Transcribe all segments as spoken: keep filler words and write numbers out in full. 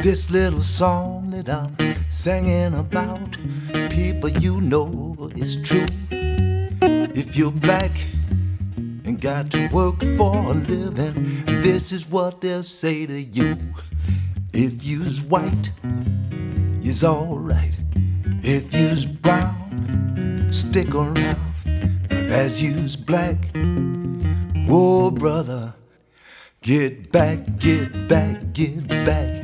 This little song that I'm singing about, people, you know it's true. If you're black and got to work for a living, this is what they'll say to you. If you's white, you's alright. If you's brown, stick around. But as you's black, whoa brother, get back, get back, get back.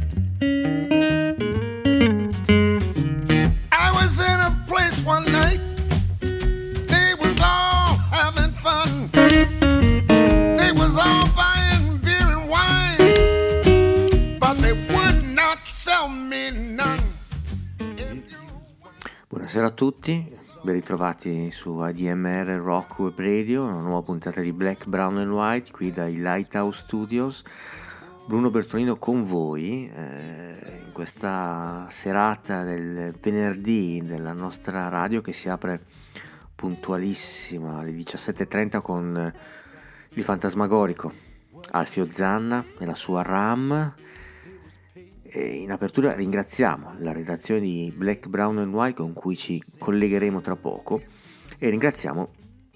I was in a place one night, they was all having fun. They was all buying beer and wine, but they would not sell me none. Buonasera a tutti, ben ritrovati su A D M R Rock Web Radio, una nuova puntata di Black, Brown and White qui dai Lighthouse Studios. Bruno Bertolino con voi eh, in questa serata del venerdì della nostra radio che si apre puntualissima alle diciassette e trenta con il fantasmagorico Alfio Zanna e la sua RAM. E in apertura ringraziamo la redazione di Black, Brown and White con cui ci collegheremo tra poco e ringraziamo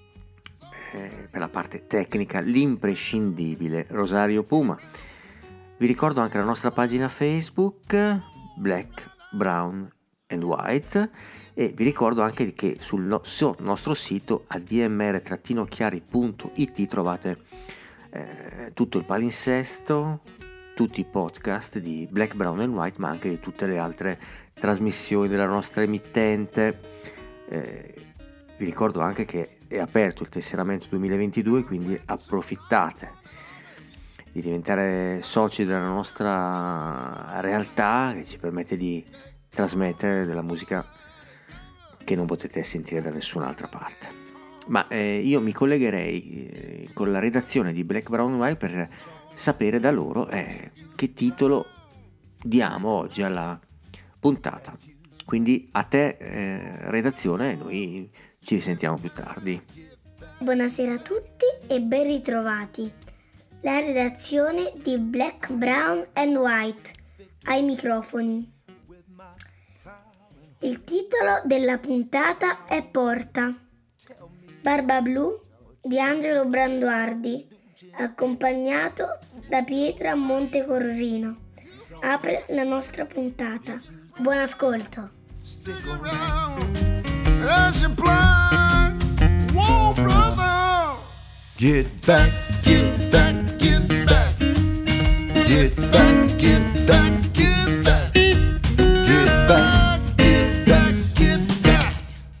eh, per la parte tecnica l'imprescindibile Rosario Puma. Vi ricordo anche la nostra pagina Facebook Black, Brown and White e vi ricordo anche che sul no- nostro sito a d m r chiari punto i t trovate eh, tutto il palinsesto, tutti i podcast di Black, Brown and White, ma anche di tutte le altre trasmissioni della nostra emittente. Eh, vi ricordo anche che è aperto il tesseramento duemilaventidue, quindi approfittate di diventare soci della nostra realtà che ci permette di trasmettere della musica che non potete sentire da nessun'altra parte. Ma eh, io mi collegherei eh, con la redazione di Black, Brown and White per sapere da loro eh, che titolo diamo oggi alla puntata. Quindi a te eh, redazione, noi ci risentiamo più tardi. Buonasera a tutti e ben ritrovati. La redazione di Black, Brown and White ai microfoni. Il titolo della puntata è Porta. Barba Blu di Angelo Branduardi, accompagnato da Pietra Montecorvino. Apre la nostra puntata. Buon ascolto. Get back, get back, get back. Get back, get back, get back. Get back, get back, get back.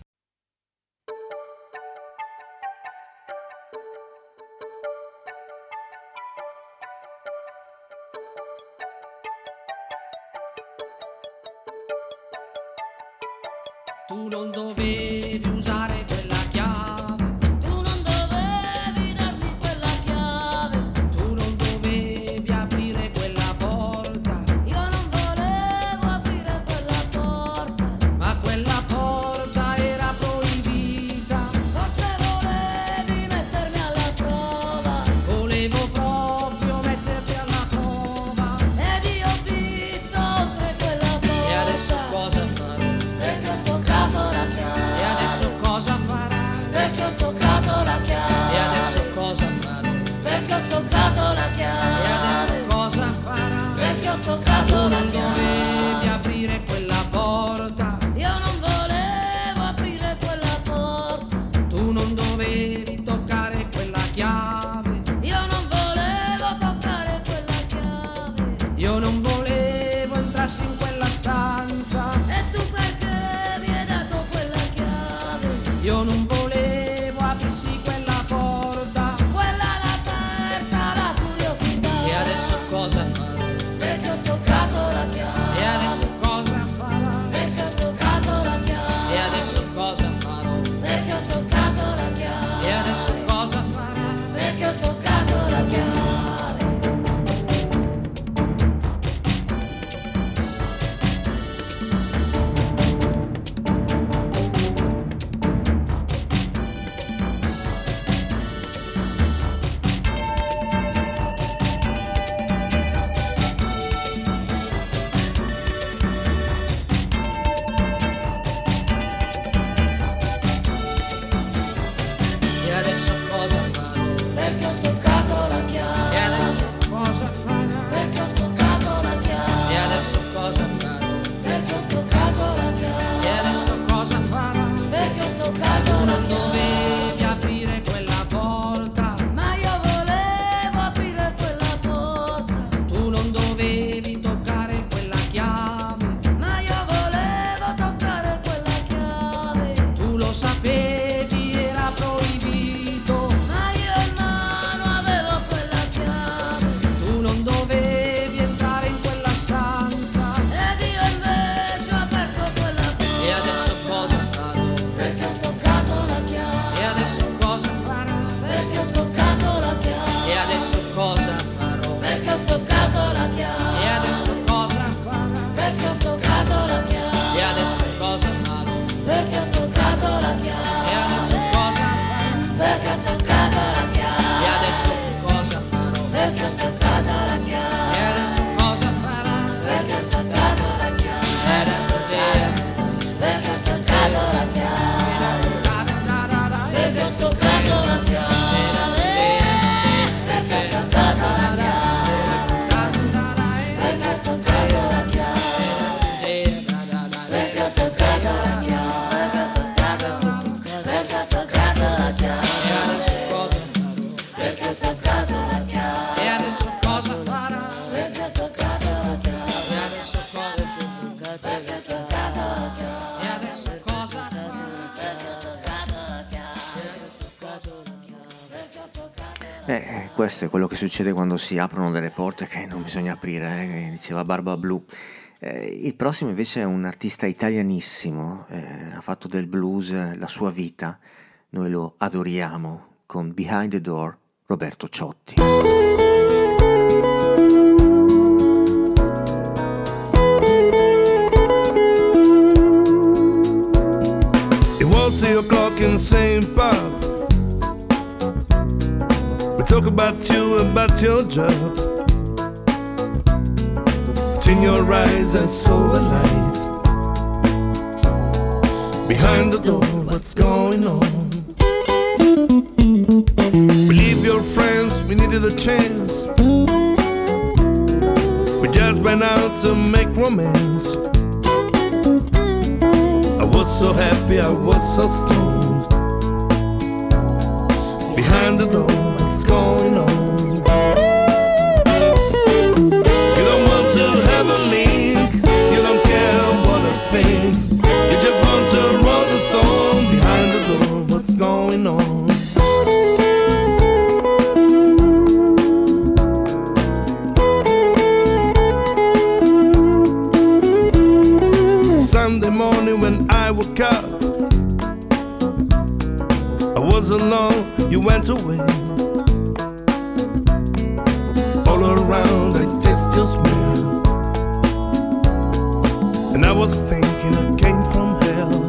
Tu non dovevi usare quella chiave. Tu non dovevi darmi quella chiave. Tu non dovevi aprire quella porta. Io non volevo aprire quella porta. Ma quella porta era proibita. Forse volevi mettermi alla prova. Volevo proprio metterti alla prova. Ed io ho visto oltre quella porta. E adesso cosa farò? Perché ho toccato la chiave. E adesso cosa farai? Perché ho toccato la chiave. E adesso cosa farò? Perché ho toccato la E chiave. adesso cosa farai? Perché ho Tu toccato la non dovevi chiave. aprire quella porta. Io non volevo aprire quella porta. Tu non dovevi toccare quella chiave. Io non volevo toccare quella chiave. Io non volevo entrassi in quella stanza. E tu perché mi hai dato quella chiave? Io non volevo aprirsi quella porta. perché ho toccato la chiave. E adesso cosa farà? Perché ho toccato la chiave. E adesso cosa farà? Perché ho toccato la chiave. E adesso cosa farà? Perché ho toccato Tu la non chiave. dovevi aprire quella porta. Ma io volevo aprire quella porta. Tu non dovevi toccare quella chiave. Ma io volevo toccare quella chiave. Tu lo sapevi, era proibito. Ma io in mano avevo quella chiave. Tu non dovevi entrare in quella stanza. Ed io invece ho aperto quella porta. E adesso cosa farò? Perché ho toccato la chiave. E adesso cosa farà? Perché ho toccato la chiave. E adesso cosa farò? Perché ho toccato la chiave. E adesso cosa farà? Perché ho toccato la chiave. E adesso cosa farò? Perché ho toccato la E chiave. adesso cosa farò? Perché ho toccato la E chiave. adesso cosa farò? Perché ho toccato la E chiave. adesso cosa farà? Perché ho toccato la chiave. Era vero. Perché ho toccato la chiave. Perché ho toccato la chiave. Perché ho toccato la chiave. Perché ho toccato la chiave. Perché ho toccato la chiave. Perché ho toccato la chiave. E adesso cosa farò? Perché ho toccato la chiave. E adesso cosa farà? Perché ho toccato la chiave. E adesso cosa Perché ho toccato la chiave. E adesso cosa farà? Perché ho toccato la chiave. Perché ho toccato la chiave. Eh, questo è quello che succede quando si aprono delle porte che non bisogna aprire, eh, che diceva Barba Blu. Eh, il prossimo invece è un artista italianissimo, eh, ha fatto del blues la sua vita, noi lo adoriamo, con Behind the Door, Roberto Ciotti. It was three o'clock in the same pub. We talk about you, about your job. In your eyes I saw a light. Behind the door, what's going on? We leave your friends, we needed a chance. We just went out to make romance. I was so happy, I was so stoned. Behind the door, what's going on? You don't want to have a link, you don't care what I think. You just want to roll the stone. Behind the door, what's going on? Sunday morning when I woke up, I was alone, you went away. All around I taste your smell, and I was thinking it came from hell.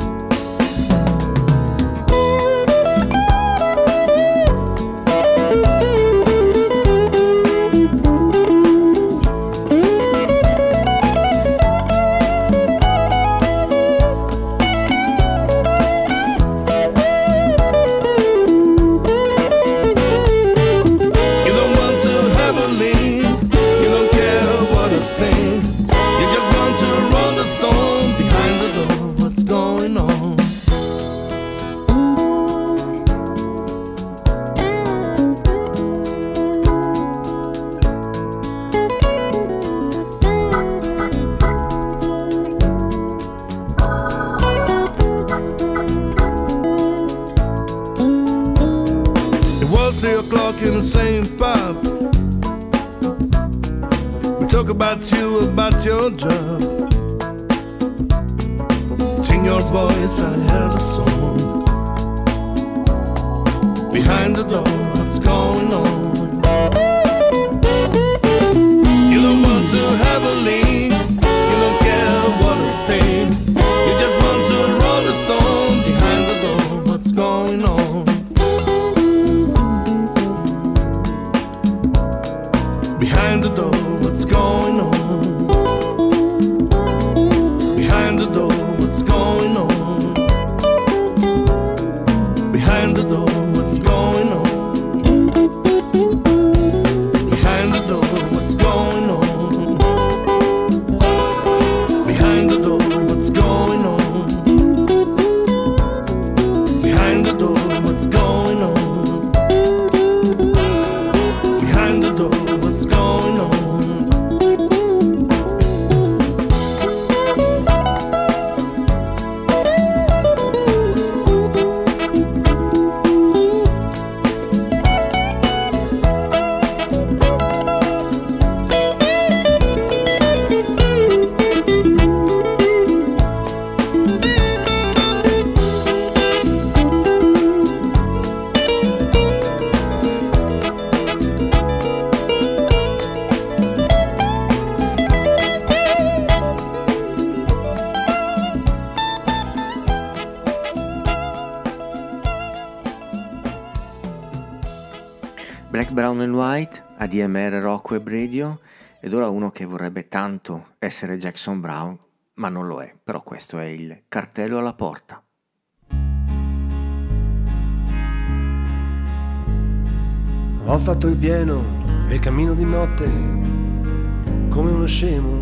Three o'clock in the same pub. We talk about you, about your job. In your voice I heard a song. Behind the door, what's going on? You don't want to have a link, you don't care what I think. You just want to roll the stone. Behind the door, what's going on? Behind the door, what's going on? Behind the door, what's going on? Behind the door, what's going on? going on? Behind the door, what's going on? Black, Brown and White, A D M R Rock Web Radio, ed ora uno che vorrebbe tanto essere Jackson Browne, ma non lo è, però questo è il cartello alla porta. Ho fatto il pieno e cammino di notte come uno scemo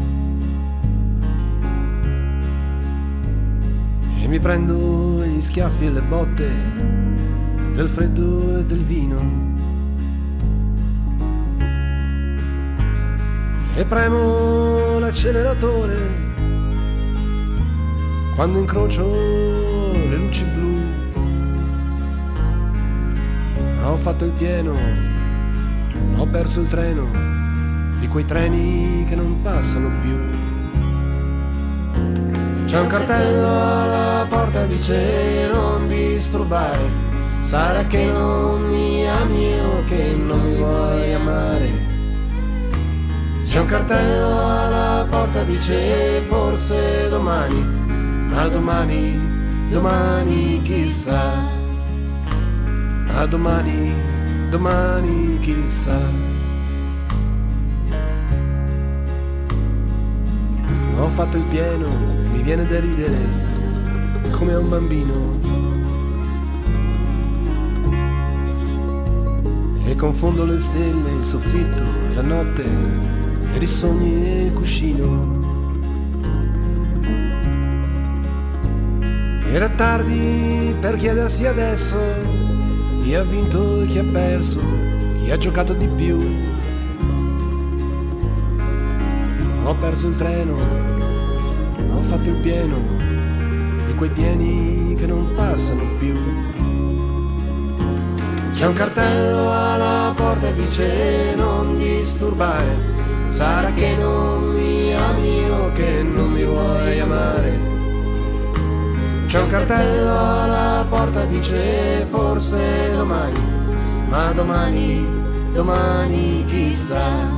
e mi prendo gli schiaffi e le botte del freddo e del vino e premo l'acceleratore quando incrocio le luci blu. Ho fatto il pieno, ho perso il treno di quei treni che non passano più. C'è un cartello alla porta, dice non disturbare, sarà che non mi ami o che non mi vuoi amare. C'è un cartello alla porta, dice forse domani, ma domani, domani chissà, ma domani, domani chissà. Ho fatto il pieno, mi viene da ridere come a un bambino e confondo le stelle, il soffitto e la notte e i sogni e il cuscino. Era tardi per chiedersi adesso chi ha vinto e chi ha perso, chi ha giocato di più. Ho perso il treno, ho fatto il pieno di quei pieni che non passano più. C'è un cartello alla porta e dice non disturbare, sarà che non mi ami o che non mi vuoi amare. C'è un cartello alla porta, dice forse domani, ma domani, domani chissà.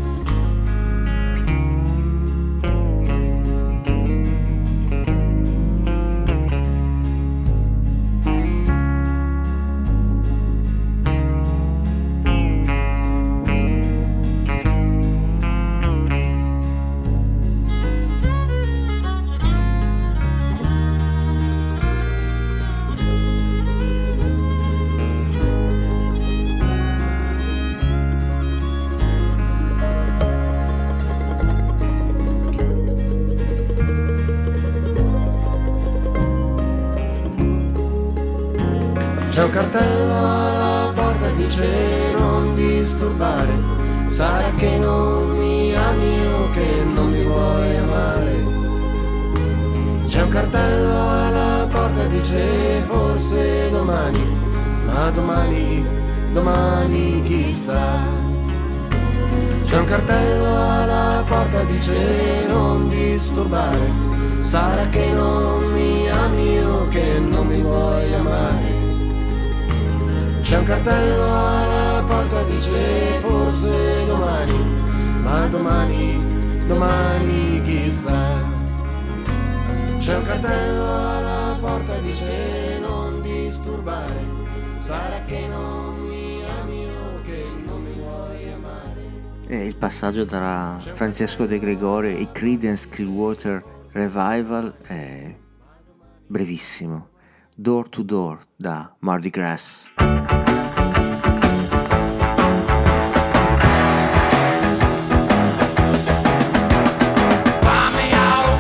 C'è un cartello alla porta, dice non disturbare, sarà che non mi ami o che non mi vuoi amare. C'è un cartello alla porta, dice forse domani, ma domani, domani chissà. C'è un cartello alla porta, dice non disturbare, sarà che non mi ami o che non mi vuoi amare. C'è un cartello alla porta, dice forse domani, ma domani, domani chissà. C'è un cartello alla porta, dice non disturbare, sarà che non mi ami o che non mi vuoi amare. E il passaggio tra Francesco De Gregori e i Creedence Clearwater Revival è brevissimo. Door to Door da Mardi Gras.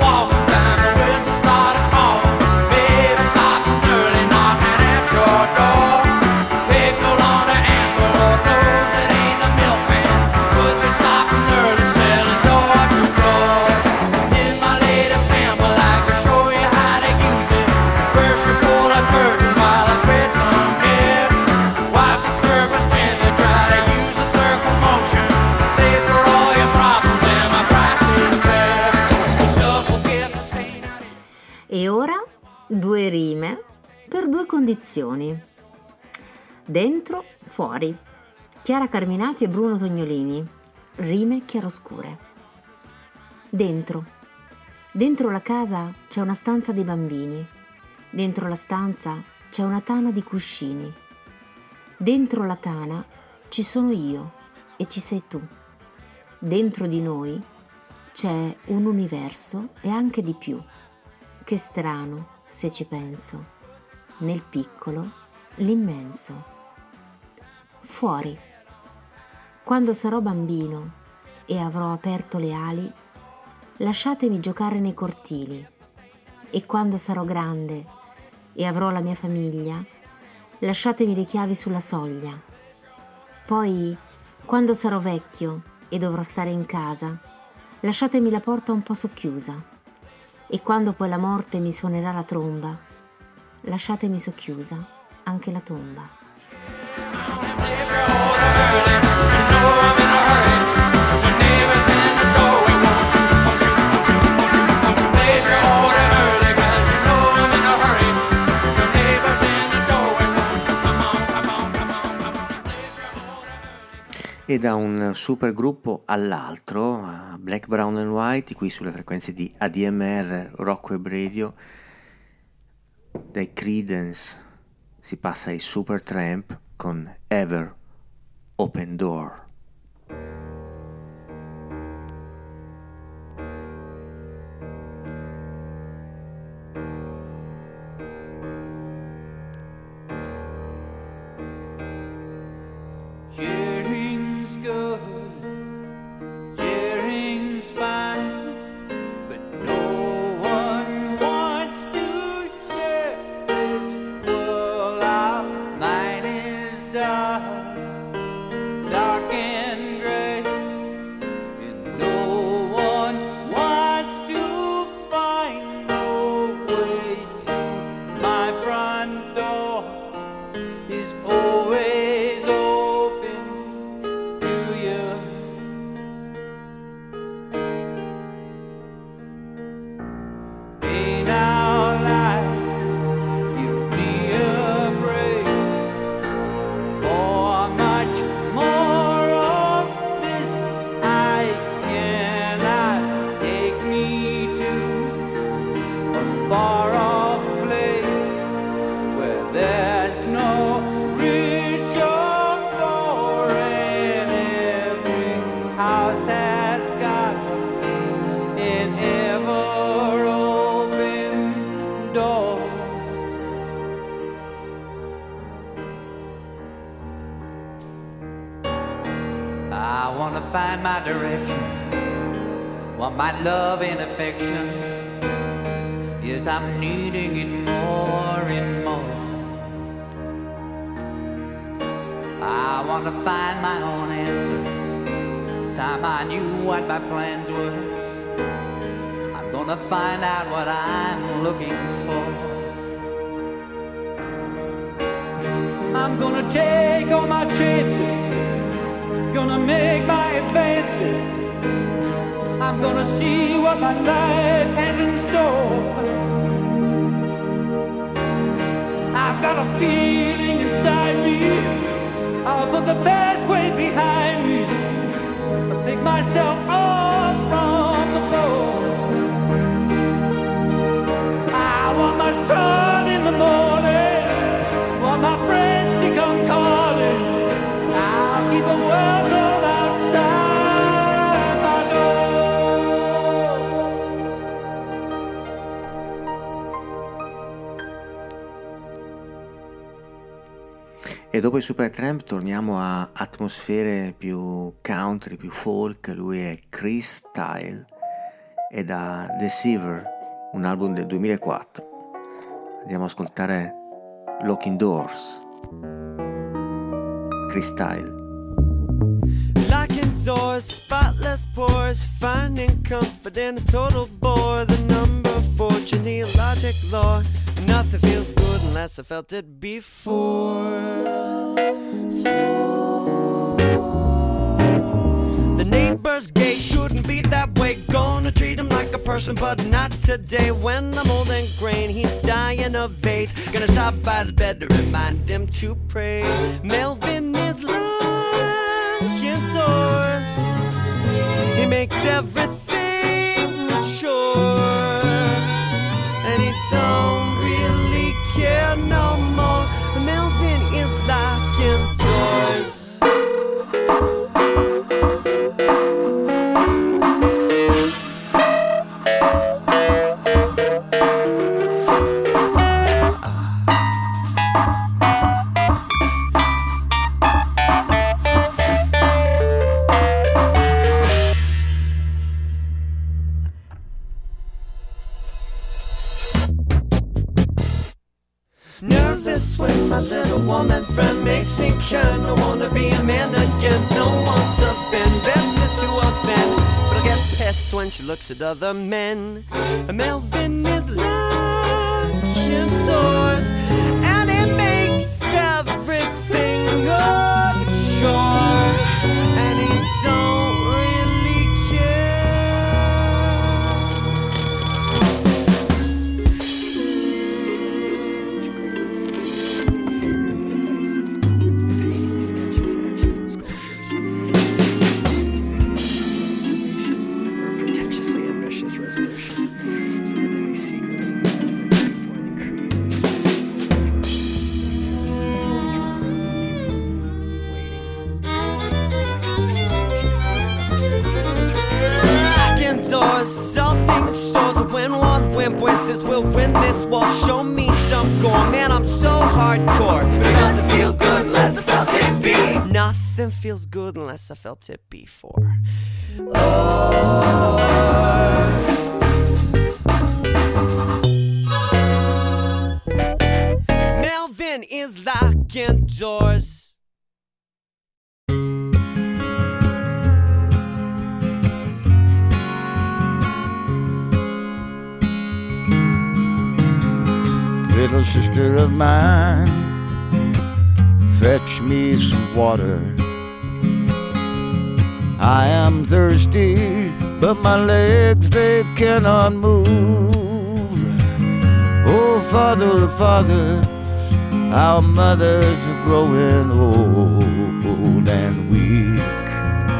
Door condizioni. Dentro, fuori. Chiara Carminati e Bruno Tognolini. Rime chiaroscure. Dentro. Dentro la casa c'è una stanza dei bambini. Dentro la stanza c'è una tana di cuscini. Dentro la tana ci sono io e ci sei tu. Dentro di noi c'è un universo e anche di più. Che strano, se ci penso. Nel piccolo, l'immenso. Fuori. Quando sarò bambino e avrò aperto le ali, lasciatemi giocare nei cortili. E quando sarò grande e avrò la mia famiglia, lasciatemi le chiavi sulla soglia. Poi, quando sarò vecchio e dovrò stare in casa, lasciatemi la porta un po' socchiusa. E quando poi la morte mi suonerà la tromba, lasciatemi socchiusa anche la tomba. E da un super gruppo all'altro, Black, Brown and White, qui sulle frequenze di A D M R Rock Web Radio, dai Creedence si passa ai Supertramp con Ever Open Door. E dopo i Supertramp torniamo a atmosfere più country, più folk. Lui è Chris Style e da Deceiver, un album del duemilaquattro. Andiamo ad ascoltare Locking Doors. Chris Style. Locking doors, spotless pores, finding comfort in a total bore. The number four genealogic law. Nothing feels good unless I felt it before. The neighbor's gay, shouldn't be that way. Gonna treat him like a person. person, but not today. When I'm old and grain, he's dying of AIDS. Gonna stop by his bed to remind him to pray. Melvin is like indoors. He makes everything mature, and he don't really care no more. Melvin is like indoors. Nervous when my little woman friend makes me kinda wanna be a man again. Don't want to bend, better to offend, but I'll get pissed when she looks at other men. Melvin is like indoors, and it makes everything a chore, and he don't really salting shores. When one wimp wins, we'll win this war. Show me some gore, man, I'm so hardcore. It doesn't feel good unless I felt it be. Nothing feels good unless I felt it before. Oh. Melvin is like indoors. Little sister of mine, fetch me some water. I am thirsty, but my legs, they cannot move. Oh, Father of fathers, our mothers are growing old and weak.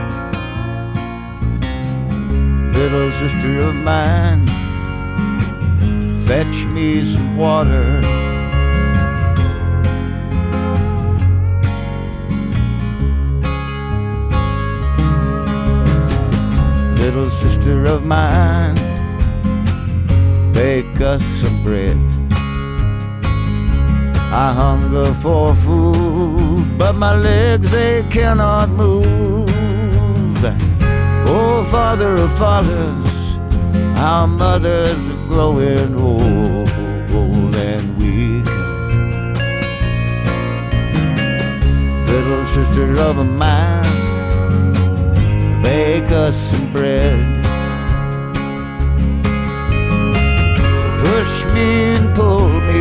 Little sister of mine, fetch me some water. Little sister of mine, bake us some bread. I hunger for food, but my legs, they cannot move. Oh, Father of fathers, our mothers are growing old, old and weak. Little sister of mine, bake us some bread. So push me and pull me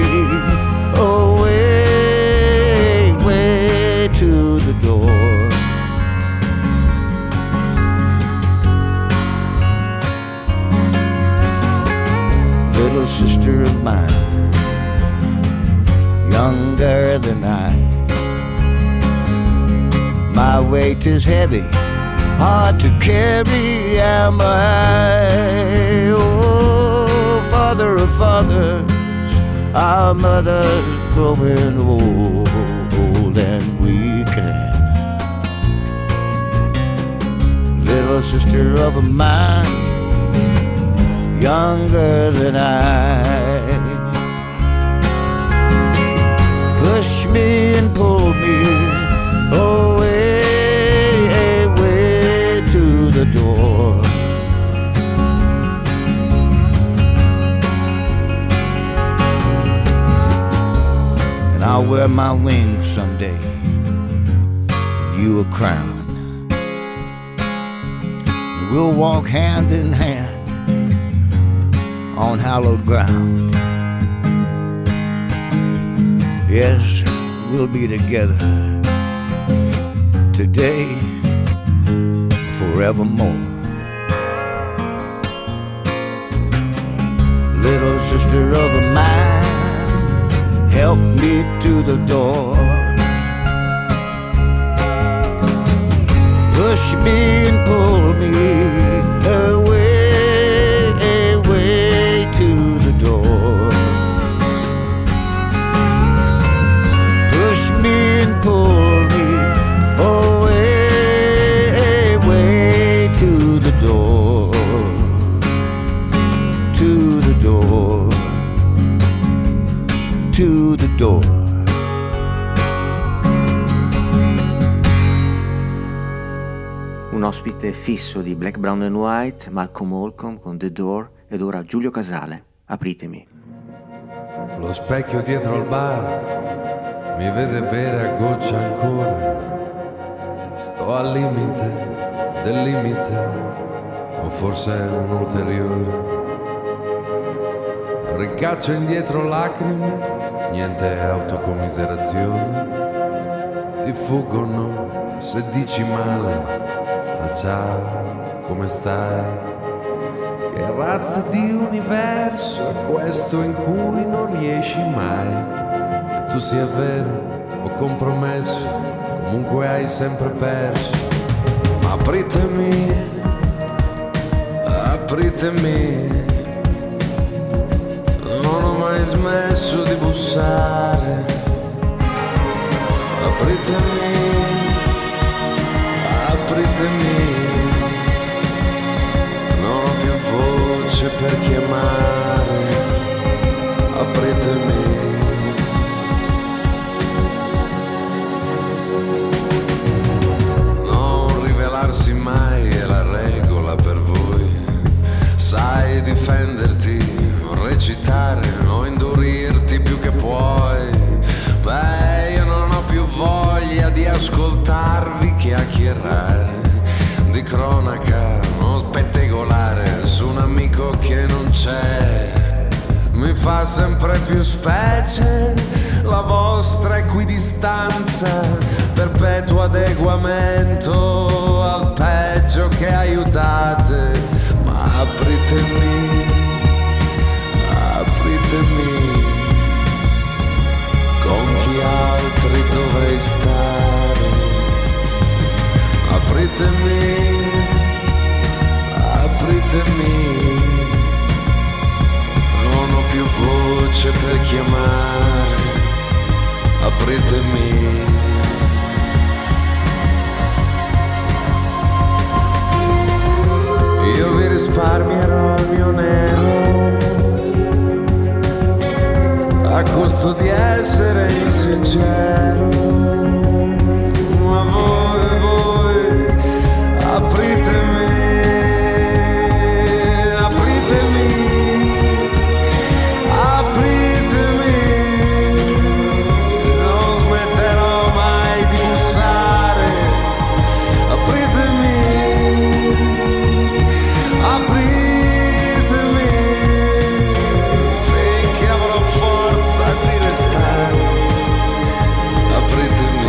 away, way to the door. Little sister of mine, younger than I. My weight is heavy, hard to carry am I. Oh, Father of fathers, our mother's growing old, old and weak. Little sister of mine, younger than I. Push me and pull me away, away to the door. And I'll wear my wings someday, and you a crown. And we'll walk hand in hand on hallowed ground. Yes, we'll be together today, forevermore. little sister of mine, help me to the door. Push me and pull me away, away to the door. Push me and pull me away, away to the door, to the door, to the door. Un ospite fisso di Black, Brown and White, Malcolm Holcomb con The Door, ed ora Giulio Casale, Apritemi. Lo specchio dietro al bar mi vede bere a goccia ancora. Sto al limite del limite, o forse un ulteriore. Ricaccio indietro lacrime, niente autocommiserazione. Ti fuggono se dici male. Ah ciao, come stai? Che razza di universo è questo in cui non riesci mai? Che tu sia vero o compromesso, comunque hai sempre perso. Apritemi, apritemi, non ho mai smesso di bussare. Apritemi, apritemi, non ho più voce per chiamare. Apritemi. Non rivelarsi mai è la regola per voi. Sai difenderti, recitare o indurirti più che puoi. Beh, io non ho più voglia di ascoltarvi chiacchierare di cronaca, non spettegolare su un amico che non c'è. Mi fa sempre più specie la vostra equidistanza, perpetuo adeguamento al peggio che aiutate. Ma apritemi, apritemi, con chi altri dovrei stare. Apritemi, apritemi, non ho più voce per chiamare. Apritemi. Io vi risparmierò il mio nero a costo di essere insincero. Ma voi, voi, apritemi, apritemi, apritemi, non smetterò mai di bussare. Apritemi, apritemi, finché avrò forza di restare. Apritemi.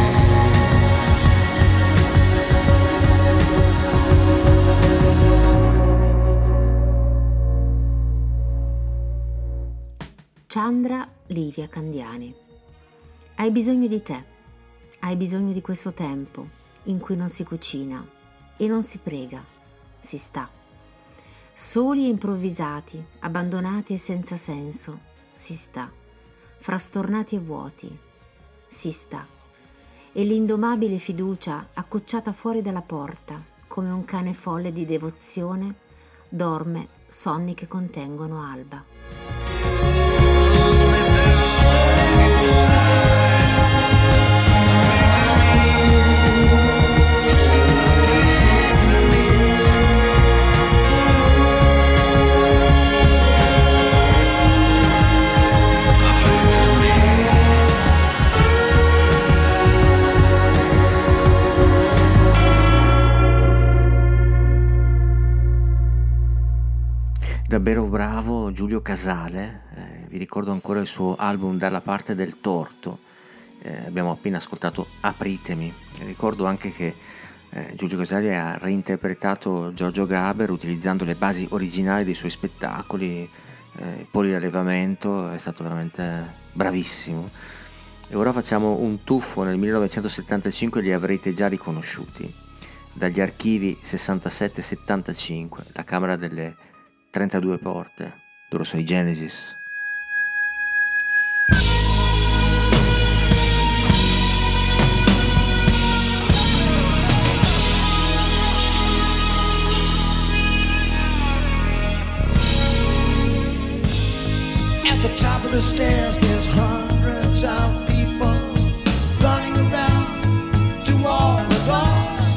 Chandra Livia Candiani. Hai bisogno di te, hai bisogno di questo tempo in cui non si cucina e non si prega, si sta. Soli e improvvisati, abbandonati e senza senso, si sta. Frastornati e vuoti, si sta. E l'indomabile fiducia accocciata fuori dalla porta, come un cane folle di devozione, dorme sonni che contengono alba. Davvero bravo Giulio Casale, eh, vi ricordo ancora il suo album Dalla parte del torto, eh, abbiamo appena ascoltato Apritemi, e ricordo anche che eh, Giulio Casale ha reinterpretato Giorgio Gaber utilizzando le basi originali dei suoi spettacoli, eh, il poliallevamento, è stato veramente bravissimo. E ora facciamo un tuffo nel millenovecentosettantacinque, li avrete già riconosciuti dagli archivi sessantasette settantacinque, la Camera delle trentadue porte. Loro sono i Genesis. At the top of the stairs there's hundreds of people running around to all the doors.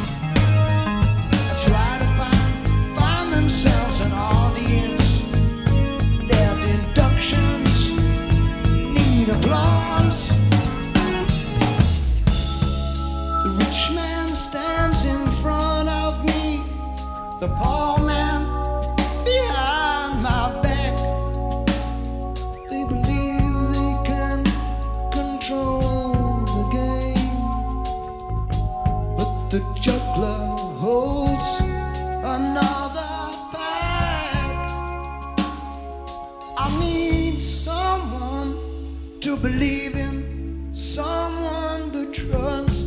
Try to find, find themselves an audience. Their deductions need applause. The rich man stands in front of me, the poor man behind my back. They believe they can control the game, but the juggler holds another pack. I need someone to believe in, someone to trust.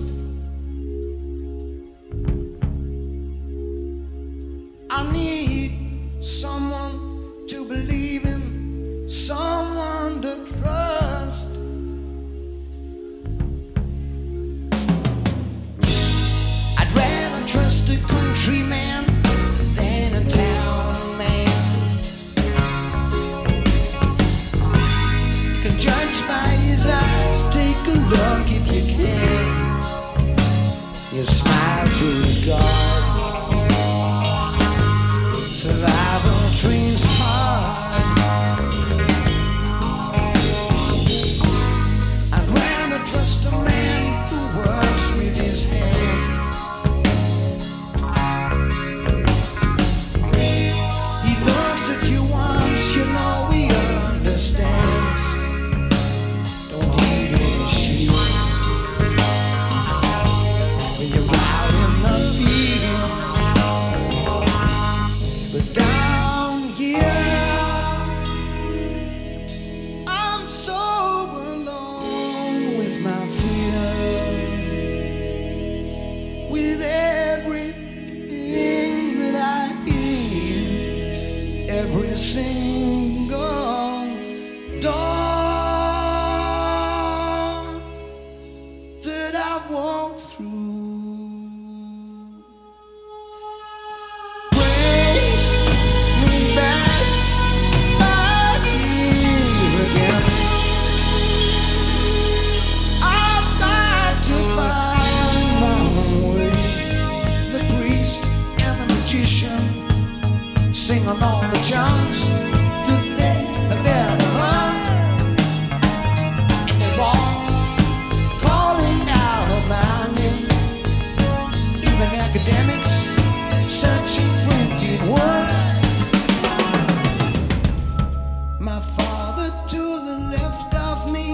I need someone to believe in, someone to trust. I'd rather trust a countryman than a town man. Can judge by his eyes, take a look if you can. You smile through his guard. Survival trains hard. I'd rather trust a man who works with his hands. He looks at you once, you know he understands. Don't eat his shit when you're out in the field. But down here, I'm so alone with my fear, with everything that I hear, every single door that I've walked through. Sing along the chants that they have ever heard, and they're all calling out of my name. Even academics searching printed word. My father to the left of me,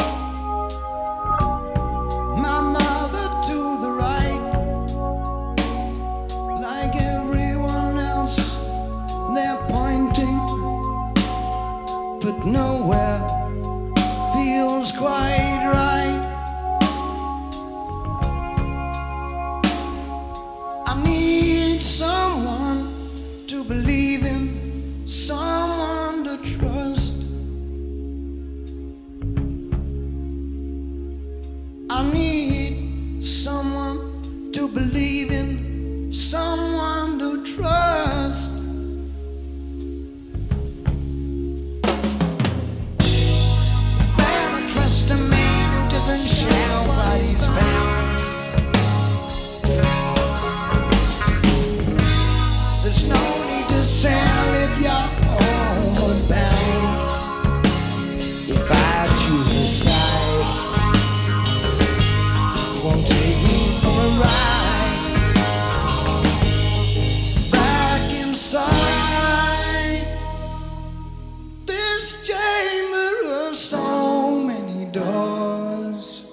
my mother to the right, like everyone else. They're pointing, but nowhere feels quite right. I need someone to believe in, someone to trust. I need someone to believe in, someone to trust. Trust a man who doesn't shout what he's found. There's no need to sell if you're homeward bound. If I choose a side, you won't take me for a ride. Back inside this chamber of so many doors,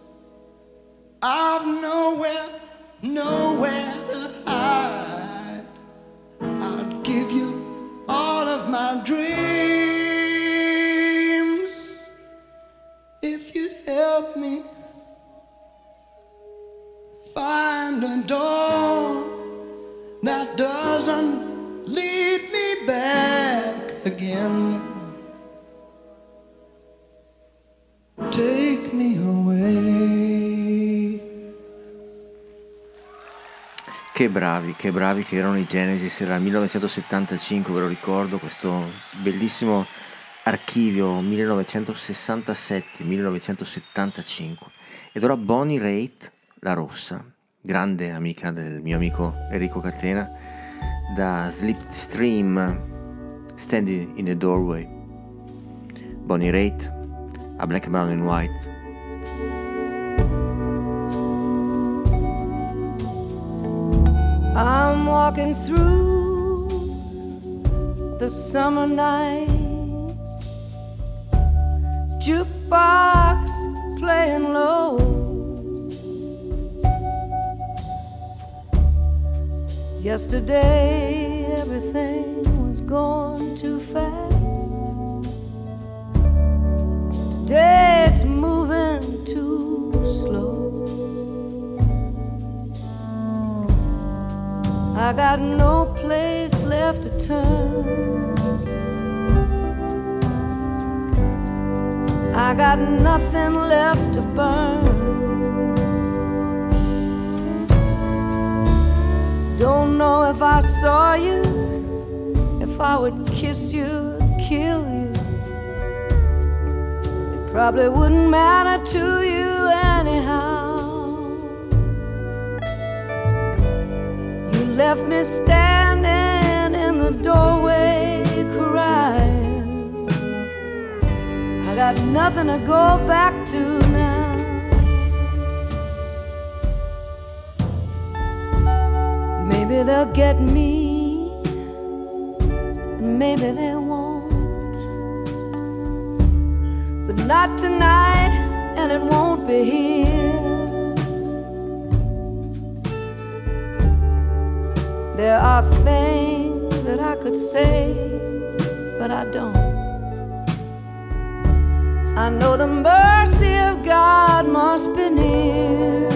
I've nowhere, nowhere to hide. I'd give you all of my dreams. Che bravi, che bravi che erano i Genesis, era il millenovecentosettantacinque, ve lo ricordo, questo bellissimo archivio millenovecentosessantasette millenovecentosettantacinque. Ed ora Bonnie Raitt, la rossa, grande amica del mio amico Enrico Catena, da Slipstream, Standing in the Doorway. Bonnie Raitt, a Black, Brown and White. I'm walking through the summer nights, jukebox playing low. Yesterday everything was gone too fast. Today it's moving too slow. I got no place left to turn. I got nothing left to burn. Don't know if I saw you, if I would kiss you, kill you. It probably wouldn't matter to you anyhow. Left me standing in the doorway crying. I got nothing to go back to now. Maybe they'll get me, and maybe they won't. But not tonight, and it won't be here. There are things that I could say, but I don't. I know the mercy of God must be near.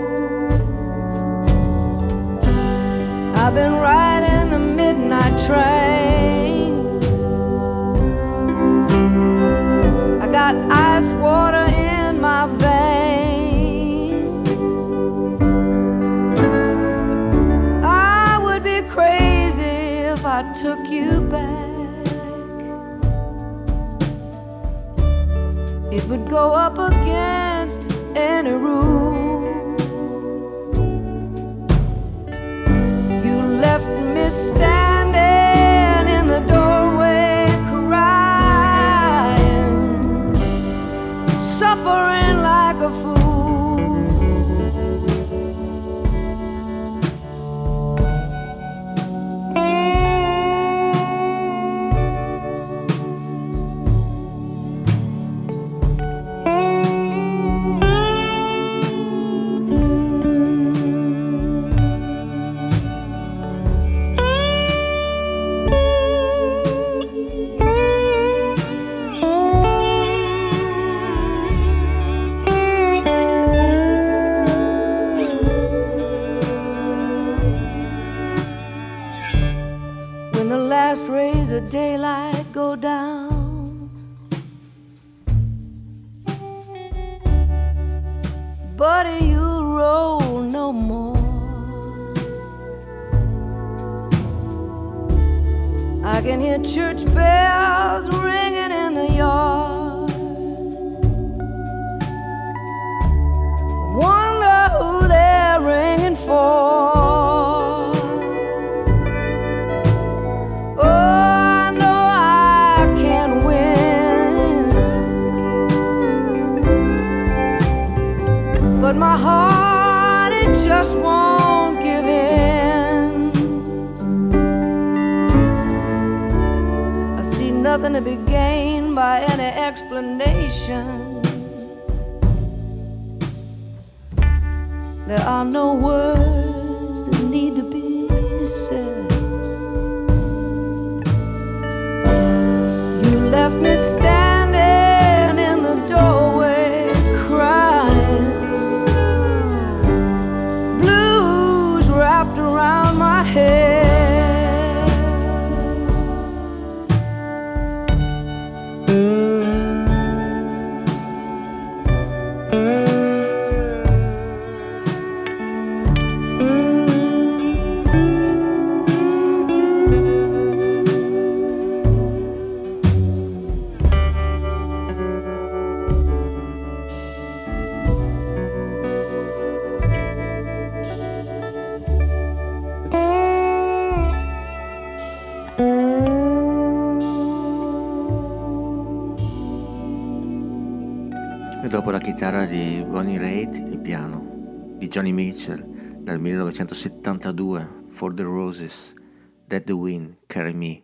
I've been riding the midnight train. I got ice water in my veins. Crazy if I took you back. It would go up against any rule. You left me standing in the doorway crying, suffering like a fool. Daylight go down, buddy, you'll roll no more. I can hear church bells ringing in the yard. Wonder who they're ringing for. But my heart, it just won't give in. I see nothing to be gained by any explanation. There are no words that need to be said. You left me standing in the doorway crying, wrapped around my head. dopo la chitarra di Bonnie Raitt, il piano di Johnny Mitchell dal millenovecentosettantadue, For the Roses, Let the Wind Carry Me.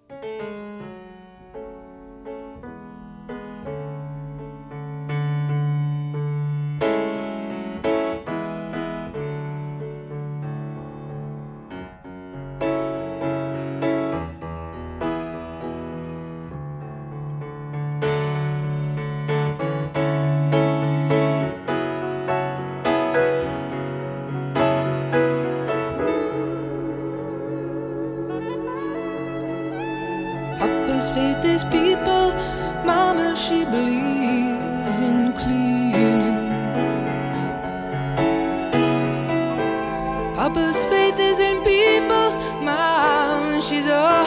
Faith is people, Mama, she believes in cleaning. Papa's faith is in people, Mama, she's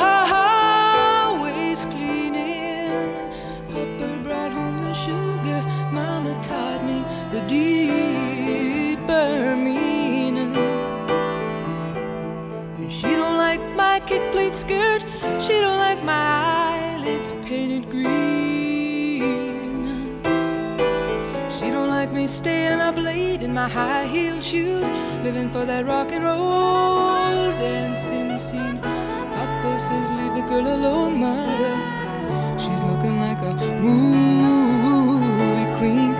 always cleaning. Papa brought home the sugar, Mama taught me the deeper meaning. And she don't like my kick plate skirt, she don't like my eyelids painted green. She don't like me staying up late in my high-heeled shoes, living for that rock and roll dancing scene. Papa says leave the girl alone, Mother, she's looking like a movie queen.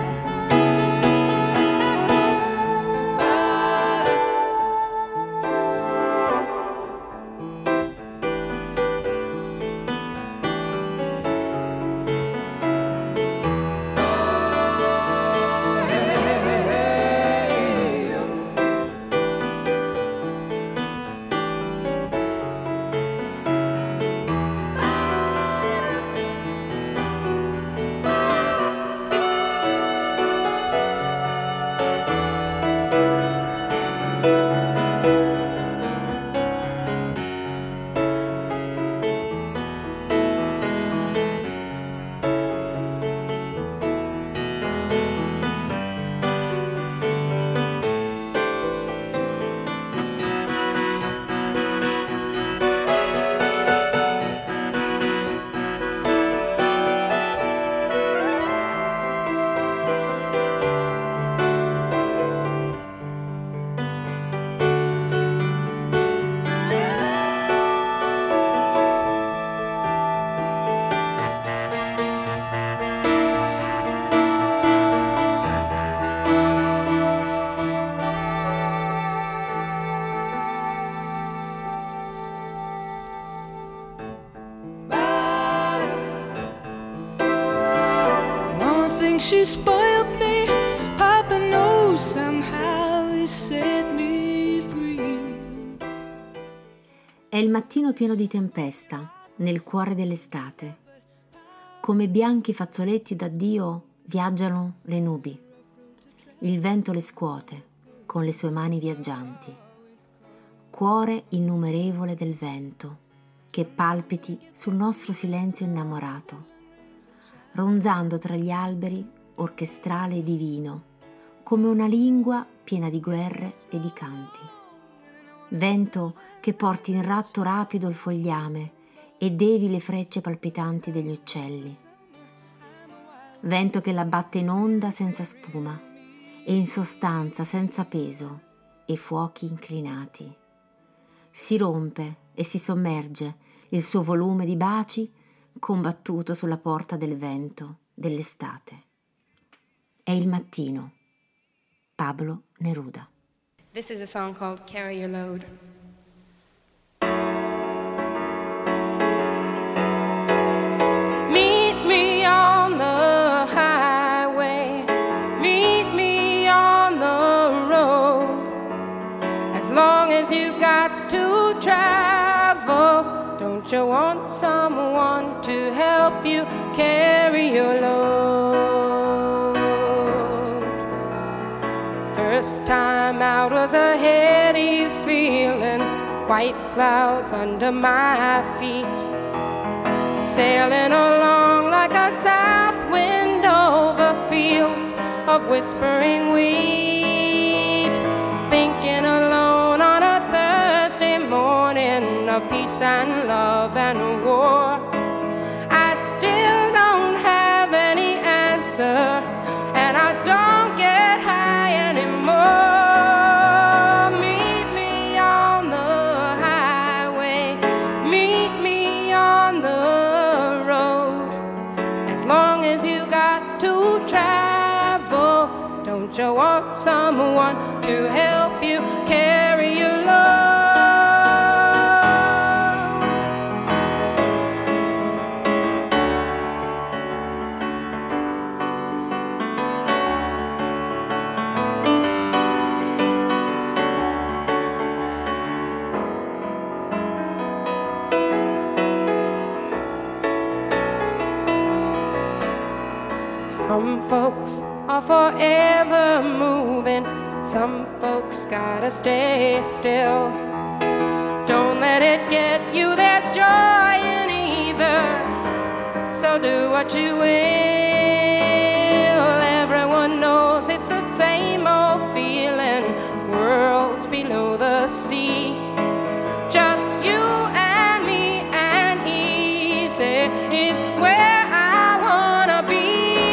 She spoiled me, Papa knows somehow he set me free. È il mattino pieno di tempesta, nel cuore dell'estate. Come bianchi fazzoletti d'addio viaggiano le nubi. Il vento le scuote con le sue mani viaggianti. Cuore innumerevole del vento, che palpiti sul nostro silenzio innamorato, ronzando tra gli alberi orchestrale e divino, come una lingua piena di guerre e di canti. Vento che porti in ratto rapido il fogliame e devi le frecce palpitanti degli uccelli. Vento che la batte in onda senza spuma e in sostanza senza peso e fuochi inclinati. Si rompe e si sommerge il suo volume di baci combattuto sulla porta del vento dell'estate. È il mattino. Pablo Neruda. This is a song called Carry Your Load. Meet me on the highway, meet me on the road. As long as you got to travel, don't you want someone to help you carry your load? First time out was a heady feeling, white clouds under my feet, sailing along like a south wind over fields of whispering wheat, thinking alone on a Thursday morning of peace and love and war. I still don't have any answer, and I someone to help you carry your love. Some folks are forever moving, some folks gotta stay still. Don't let it get you, there's joy in either, so do what you will. Everyone knows it's the same old feeling, worlds below the sea. Just you and me and easy is where I wanna be.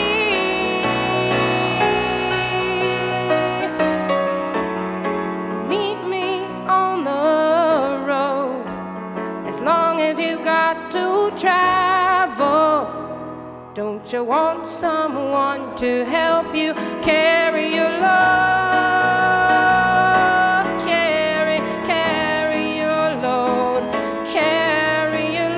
Travel, don't you want someone to help you carry your love? Carry, carry your load, carry your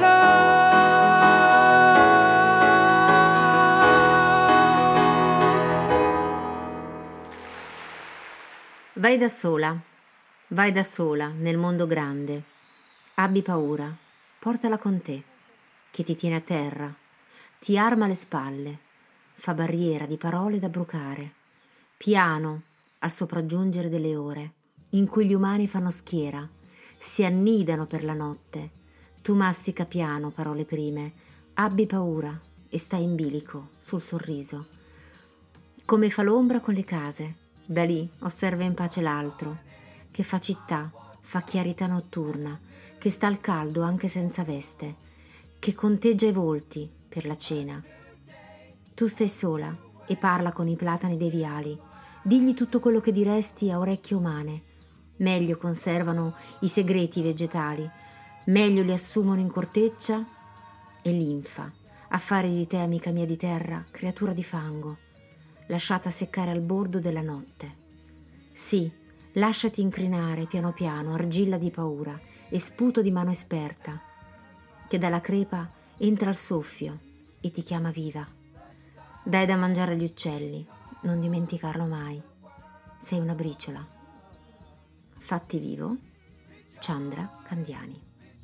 load. Vai da sola, vai da sola nel mondo grande. Abbi paura, portala con te, che ti tiene a terra, ti arma le spalle, fa barriera di parole da brucare, piano al sopraggiungere delle ore, in cui gli umani fanno schiera, si annidano per la notte. Tu mastica piano parole prime, abbi paura e stai in bilico sul sorriso. Come fa l'ombra con le case, da lì osserva in pace l'altro, che fa città, fa chiarità notturna, che sta al caldo anche senza veste, che conteggia i volti per la cena. Tu stai sola e parla con i platani dei viali, digli tutto quello che diresti a orecchie umane. Meglio conservano i segreti vegetali, meglio li assumono in corteccia e linfa, a fare di te, amica mia di terra, creatura di fango, lasciata seccare al bordo della notte. Sì, lasciati incrinare piano piano, argilla di paura e sputo di mano esperta, che dalla crepa entra il soffio e ti chiama viva. Dai da mangiare agli uccelli, non dimenticarlo mai. Sei una briciola. Fatti vivo, Chandra Candiani.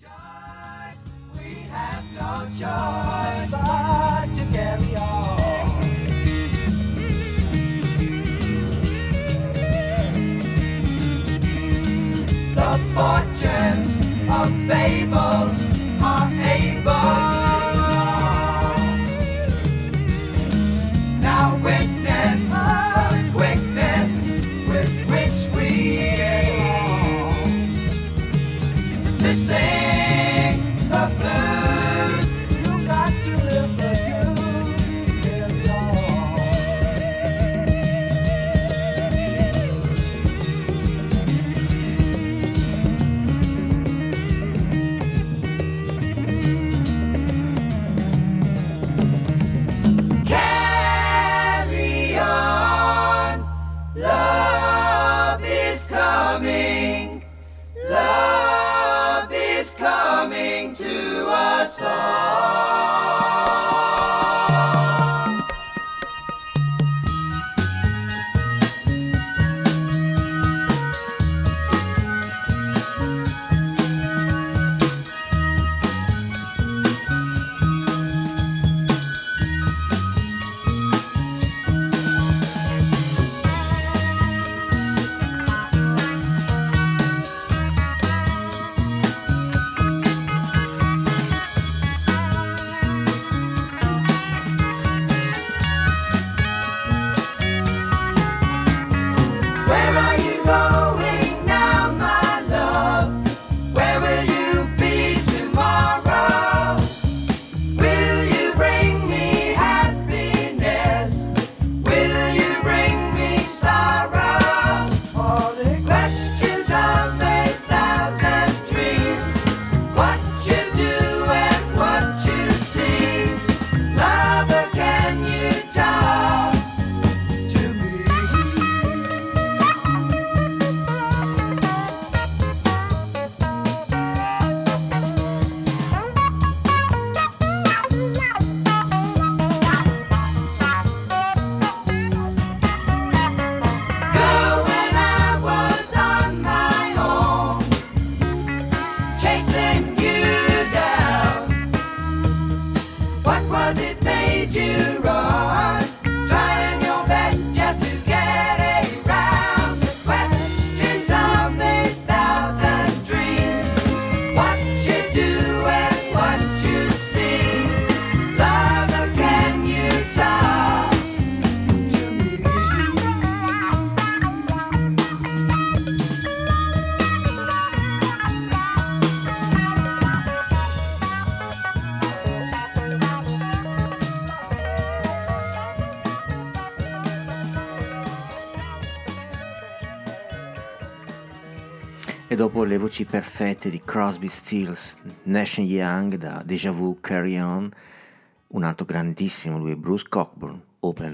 We have no choice but to carry on. The fortunes of fables are able. Now witness the quickness with which we to sing the blues. You got to live the dues. Carry on. Love is coming. Love is coming to us all. E dopo le voci perfette di Crosby, Stills, Nash and Young da Deja Vu, Carry On, un altro grandissimo, lui è Bruce Cockburn, Open.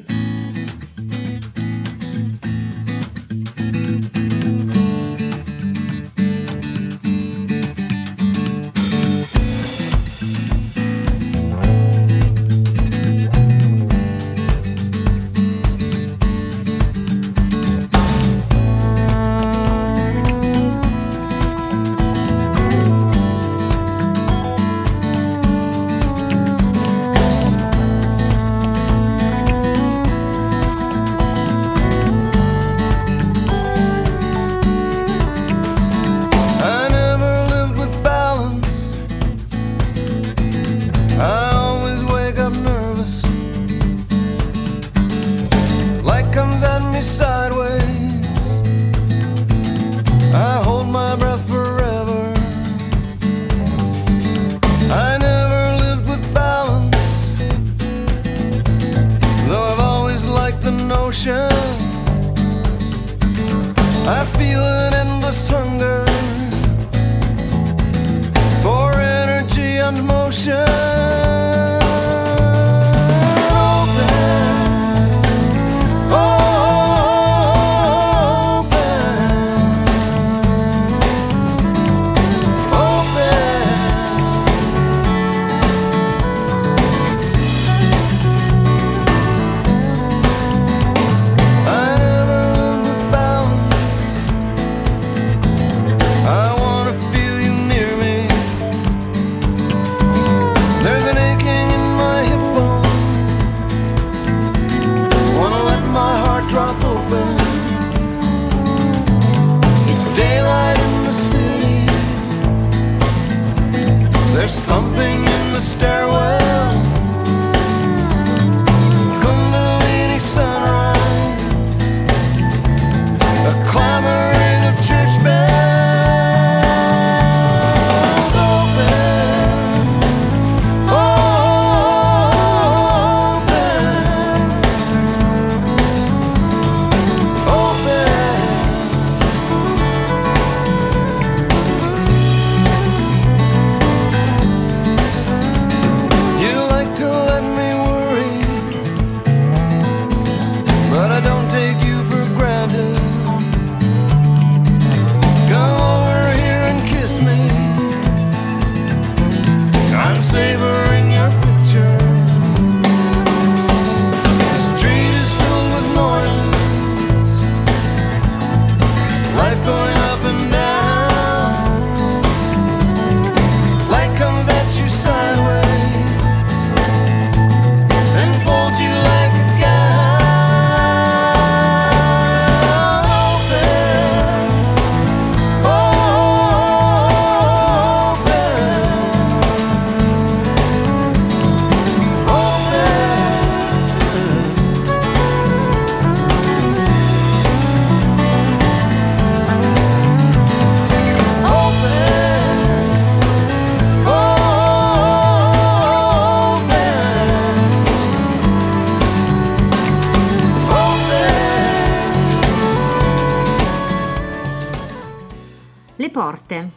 Le porte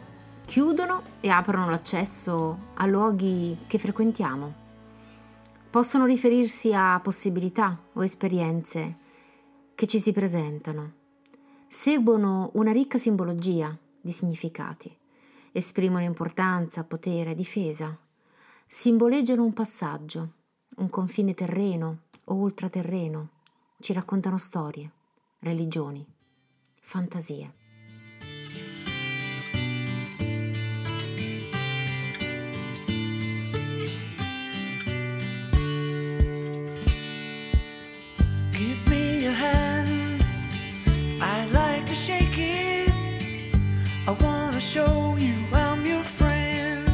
chiudono e aprono l'accesso a luoghi che frequentiamo. Possono riferirsi a possibilità o esperienze che ci si presentano. Seguono una ricca simbologia di significati. Esprimono importanza, potere, difesa. Simboleggiano un passaggio, un confine terreno o ultraterreno. Ci raccontano storie, religioni, fantasie. Give me your hand, I'd like to shake it. I wanna show you I'm your friend.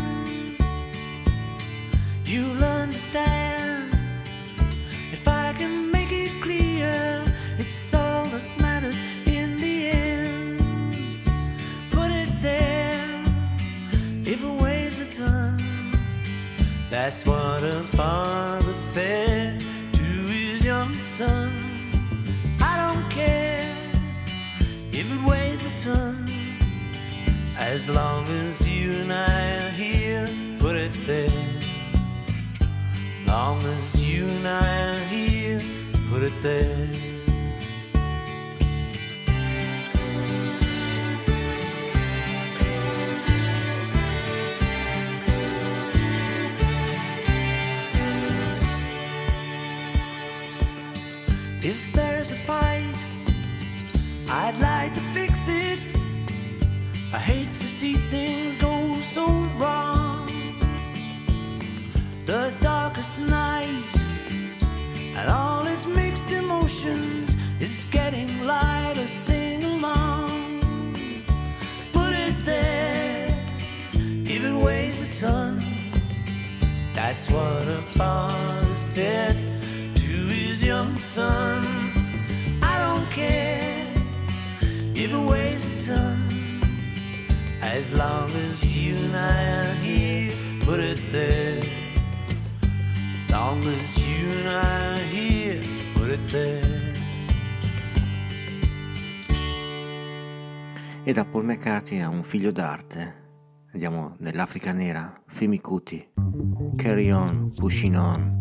You'll understand if I can make it clear. It's all that matters in the end. Put it there, if it weighs a ton. That's what a father said to his young son. I don't care if it weighs a ton. As long as you and I are here, put it there. Long as you and I are here, put it there. If there's a fight, I'd like to fix it. I hate to see things go so wrong. The darkest night and all its mixed emotions is getting lighter, sing along. Put it there, if it weighs a ton. That's what a father said to his young son. I don't care if it weighs a ton. As long as you and I are here, put it there. Long as you and I are here, put it there. E da Paul McCartney a un figlio d'arte. Andiamo nell'Africa nera, Femi Kuti. Carry on, pushing on.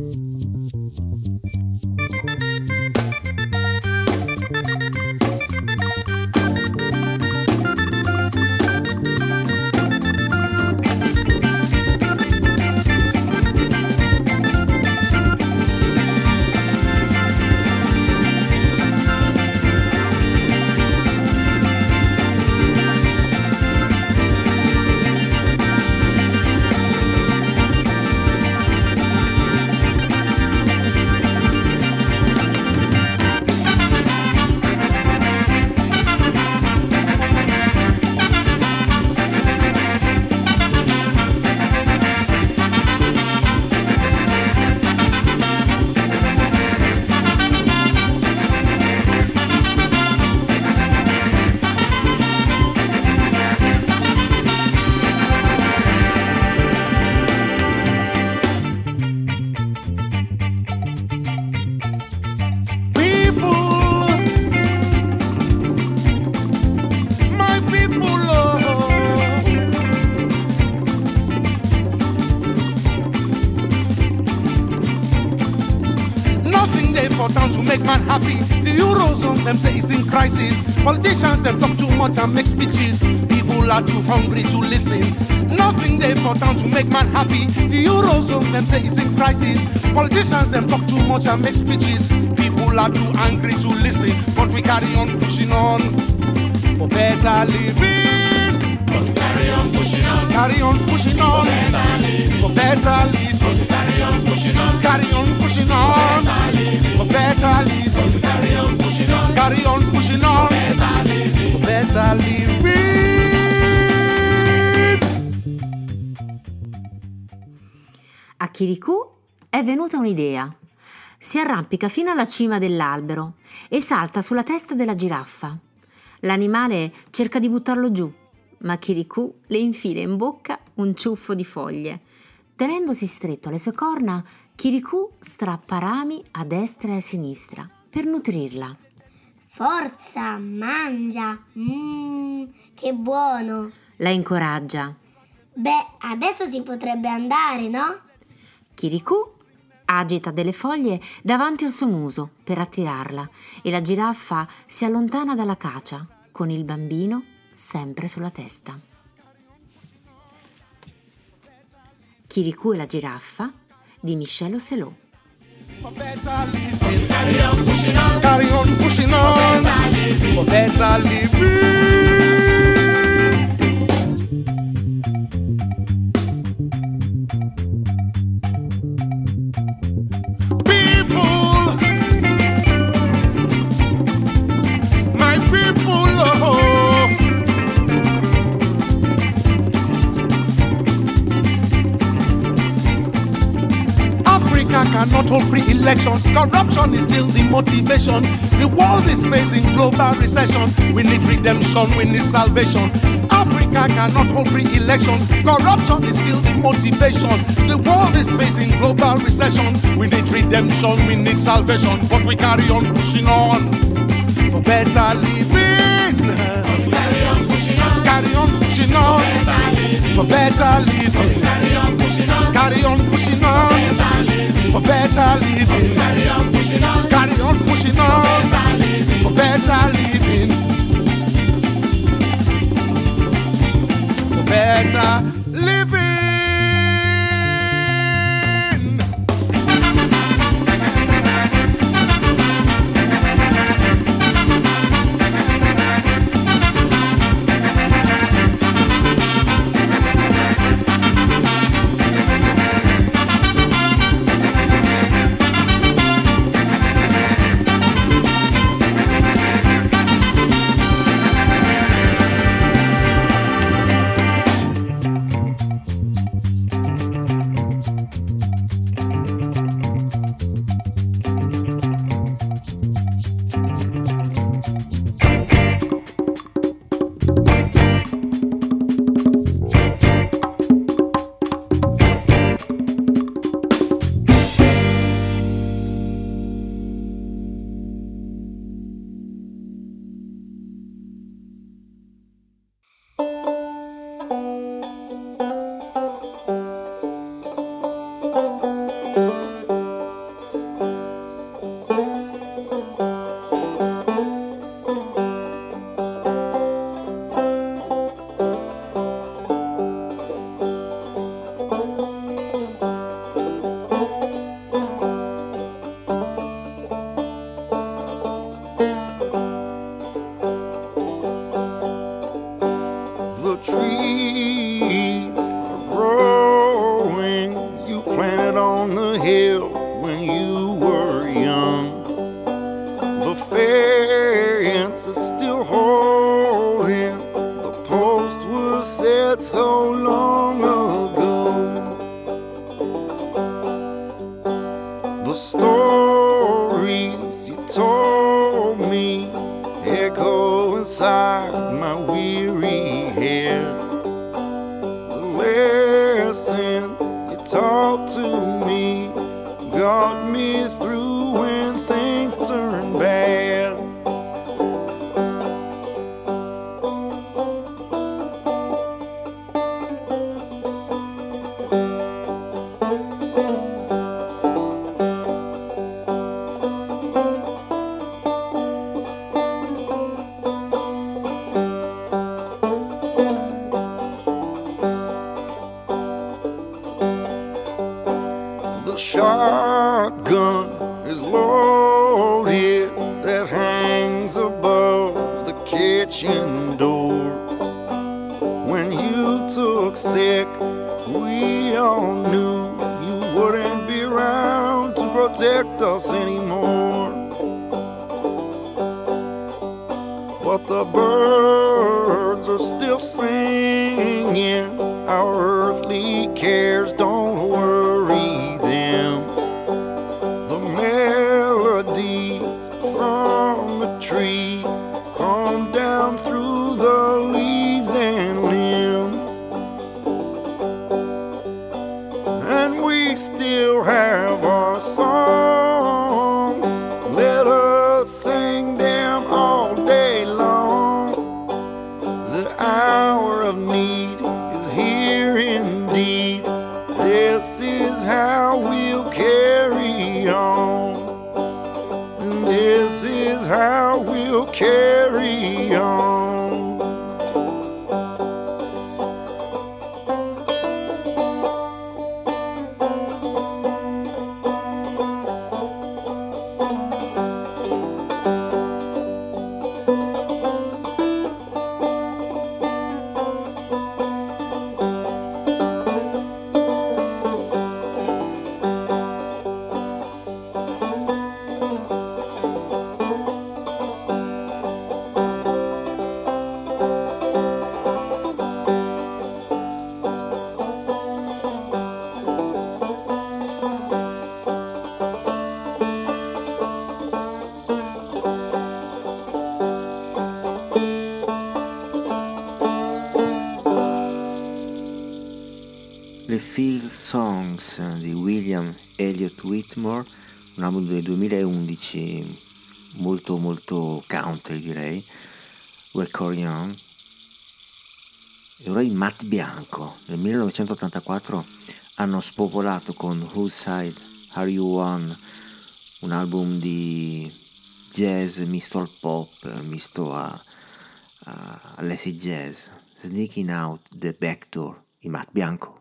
Happy. The Eurozone, them say it's in crisis. Politicians, them talk too much and make speeches. People are too hungry to listen. Nothing they for town to make man happy. The Eurozone, them say it's in crisis. Politicians, them talk too much and make speeches. People are too angry to listen. But we carry on pushing on for better living. But we carry on pushing on. Carry on pushing on for better living. For better living. But we carry on pushing on. Carry on pushing on for better living. But we carry on pushing on. Carry on pushing on for better living. For better living. A Kirikou è venuta un'idea. Si arrampica fino alla cima dell'albero e salta sulla testa della giraffa. L'animale cerca di buttarlo giù, ma Kirikou le infila in bocca un ciuffo di foglie. Tenendosi stretto alle sue corna, Kirikou strappa rami a destra e a sinistra per nutrirla. Forza, mangia! Mmm, che buono! La incoraggia. Beh, adesso si potrebbe andare, no? Kirikou agita delle foglie davanti al suo muso per attirarla e la giraffa si allontana dalla cacia con il bambino sempre sulla testa. Kirikou e la giraffa di Michel Ocelot. Carry on pushing on, carry on pushing on for better living. People, my people, oh. Africa cannot hold free elections. Corruption is still the motivation. The world is facing global recession. We need redemption, we need salvation. Africa cannot hold free elections. Corruption is still the motivation. The world is facing global recession. We need redemption, we need salvation. But we carry on pushing on for better living. Carry on pushing on. Carry on pushing for better living. Carry on pushing on. Carry on pushing on. For better living. Carry on pushing on. Carry on pushing on. For better living. For better living. Le Field Songs di William Elliott Whitmore, un album del duemilaundici molto molto country direi, Well Carry On. e ora i Matt Bianco. Nel millenovecentottantaquattro hanno spopolato con Whose Side Are You On, un album di jazz misto al pop, misto a, a all'acid jazz. Sneaking Out the Back Door, i Matt Bianco.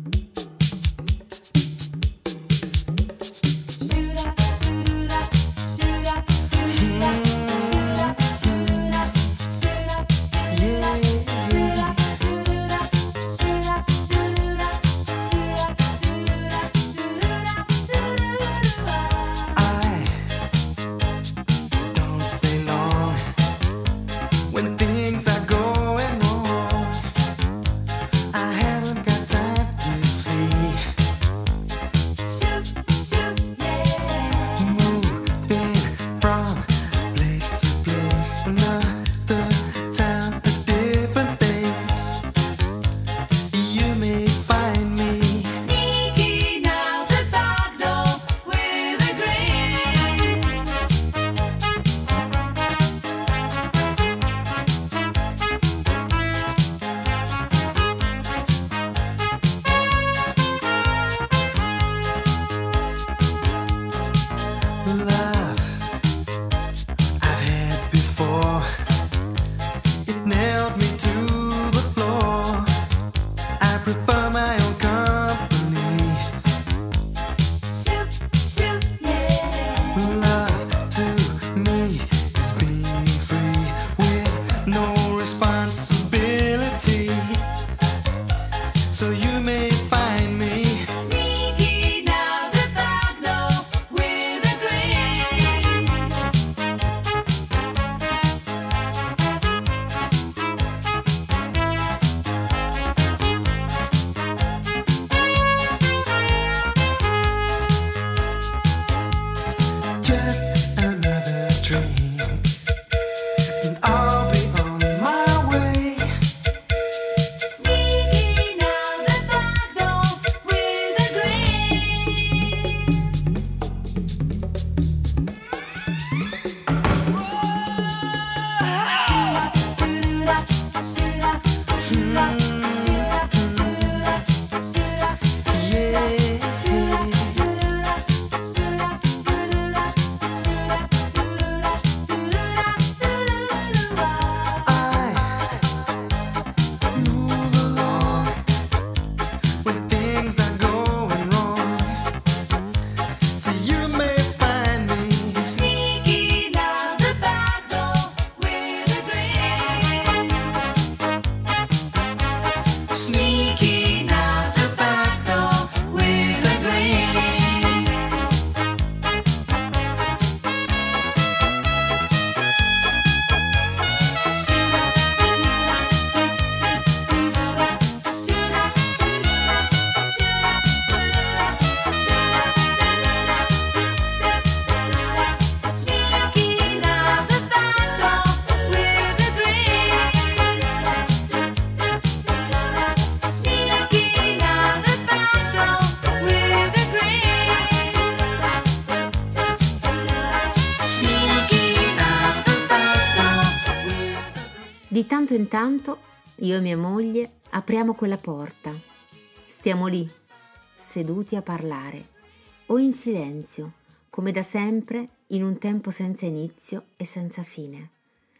Di tanto in tanto io e mia moglie apriamo quella porta, stiamo lì, seduti a parlare, o in silenzio, come da sempre, in un tempo senza inizio e senza fine.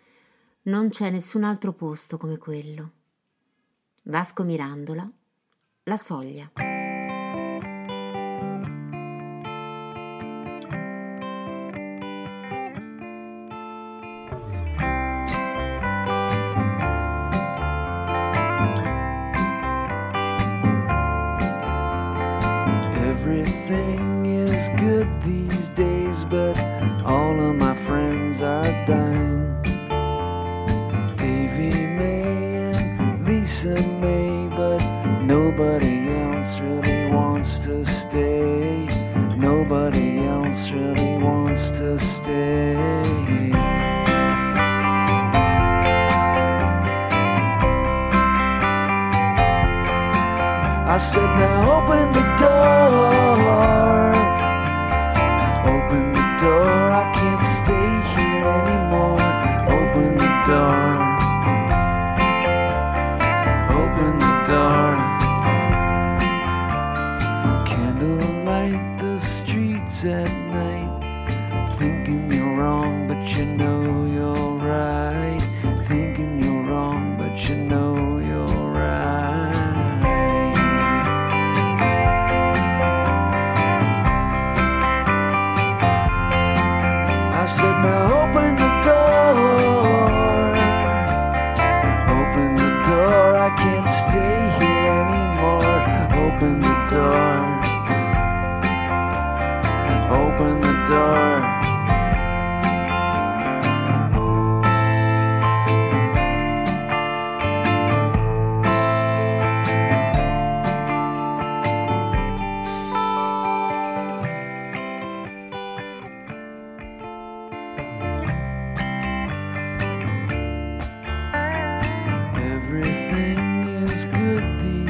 Non c'è nessun altro posto come quello. Vasco Mirandola, La Soglia. Everything is good these days, but all of my friends are dying. Davy May and Lisa May, but nobody else really wants to stay. Nobody else really wants to stay. I said, now open the door. Open the door, I can't stay here anymore. Open the door.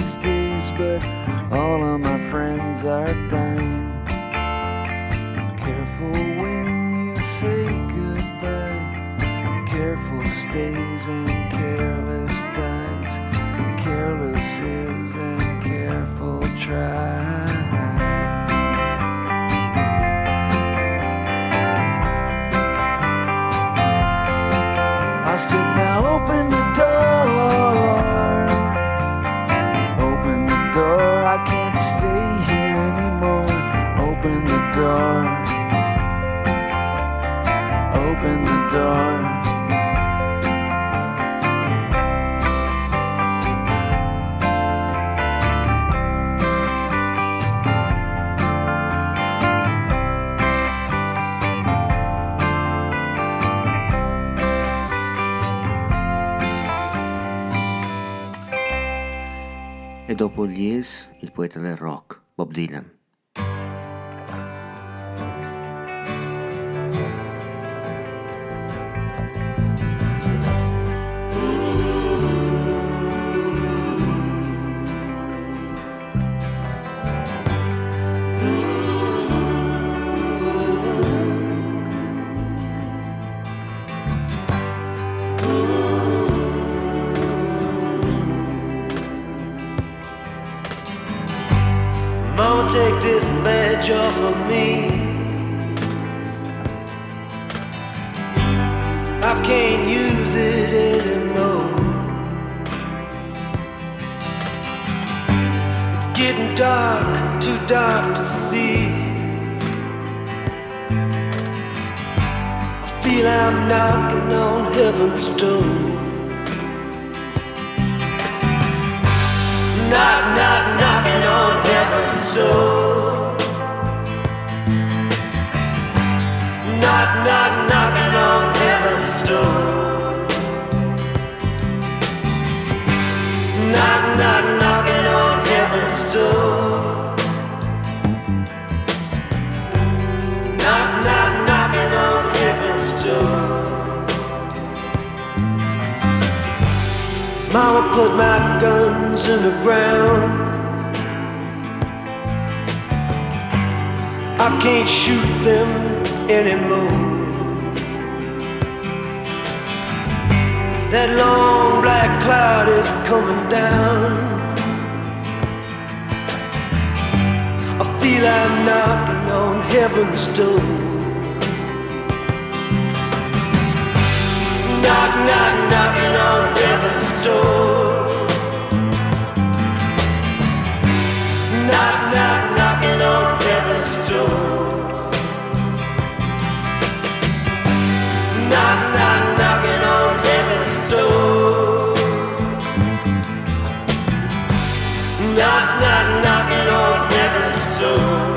these days, but all of my friends are dying. Careful when you say goodbye. Careful stays and careless dies. But careless is and careful tries. I said, now open the door. Open the door, I can't stay here anymore. Open the door. Open the door. E dopo gli Hills, il poeta del rock, Bob Dylan. Mama, take this badge off of me. I can't use it anymore. It's getting dark, too dark to see. I feel I'm knocking on heaven's door. Knock, knock, knocking on heaven's door. Knock, knock, knocking on heaven's door. Knock, knock, knocking on heaven's door. Knock, knock, knocking on heaven's door. Mama put my guns in the ground. I can't shoot them anymore. That long black cloud is coming down. I feel I'm knocking on heaven's door. Knock, knock, knocking on heaven's door. Knock, knock, knocking on heaven's door. Knock, knock, knocking on heaven's door. Knock, knock, knocking on heaven's door.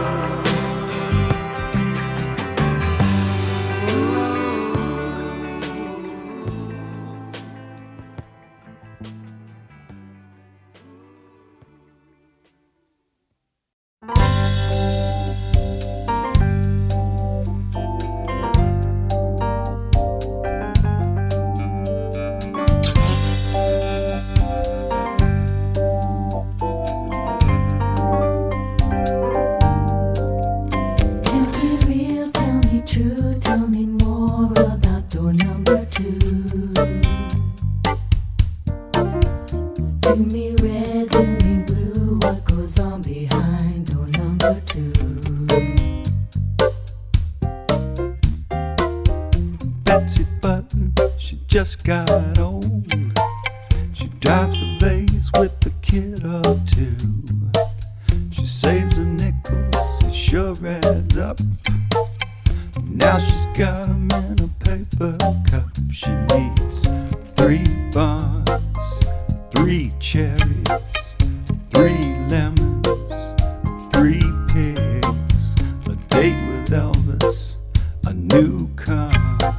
Just got old. She drives the vase with the kid of two. She saves the nickels, it sure adds up. Now she's got them in a paper cup. She needs three buns, three cherries, three lemons, three pigs, a date with Elvis, a new car,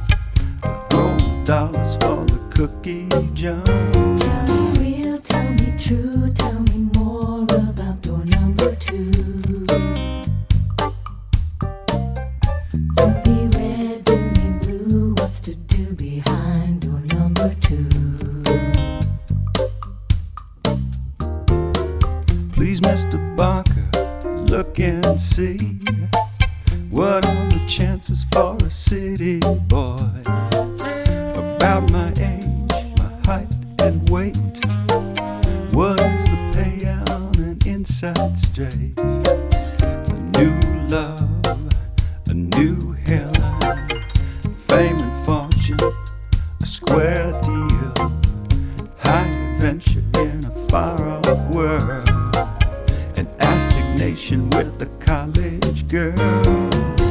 dollars for the cookie jar. Tell me real, tell me true, tell me more about door number two. Do me red, do me blue, what's to do behind door number two? look and see. What are the chances for a city boy? About my age, my height and weight. What is the payout on an inside straight? A new love, a new hairline, fame and fortune, a square deal, high adventure in a far-off world, an assignation with a college girl.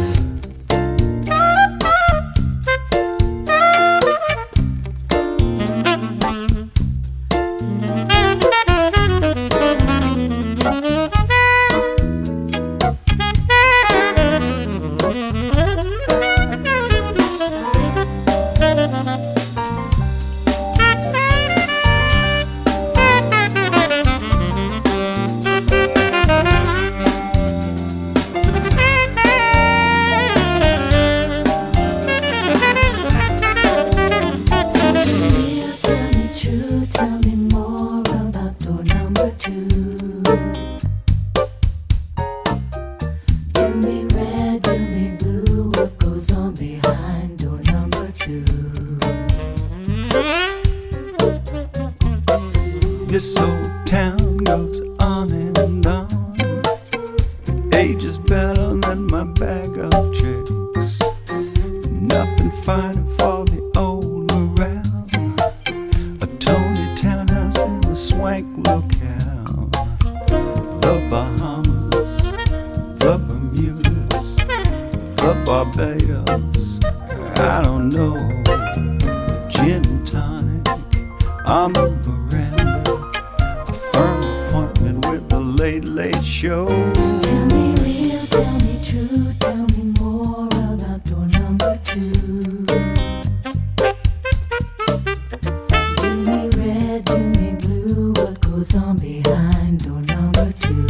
This old town goes on and on. Age is better than my bag of tricks. Nothing finer for the old morale. A Tony townhouse in a swank locale. The Bahamas, the Bermudas, the Barbados. I don't know. Gin and tonic on the veranda. Firm appointment with the Late Late Show. Tell me real, tell me true, tell me more about door number two. Do me red, do me blue, what goes on behind door number two?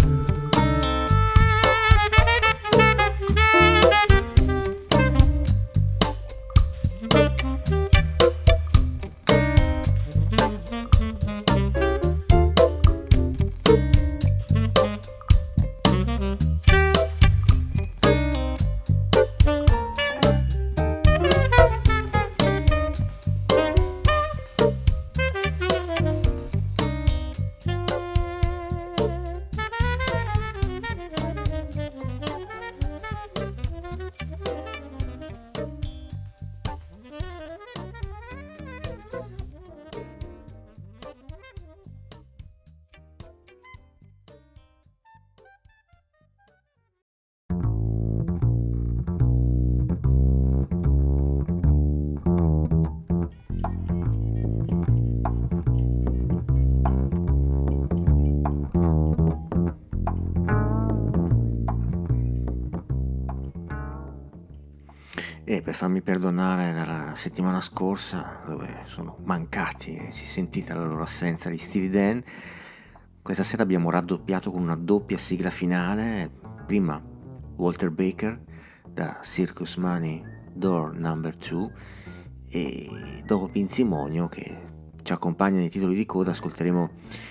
E per farmi perdonare dalla settimana scorsa, dove sono mancati e si è sentita la loro assenza gli Steely Dan, questa sera abbiamo raddoppiato con una doppia sigla finale. Prima Walter Baker da Circus Money Door number two, e dopo Pinzimonio, che ci accompagna nei titoli di coda, ascolteremo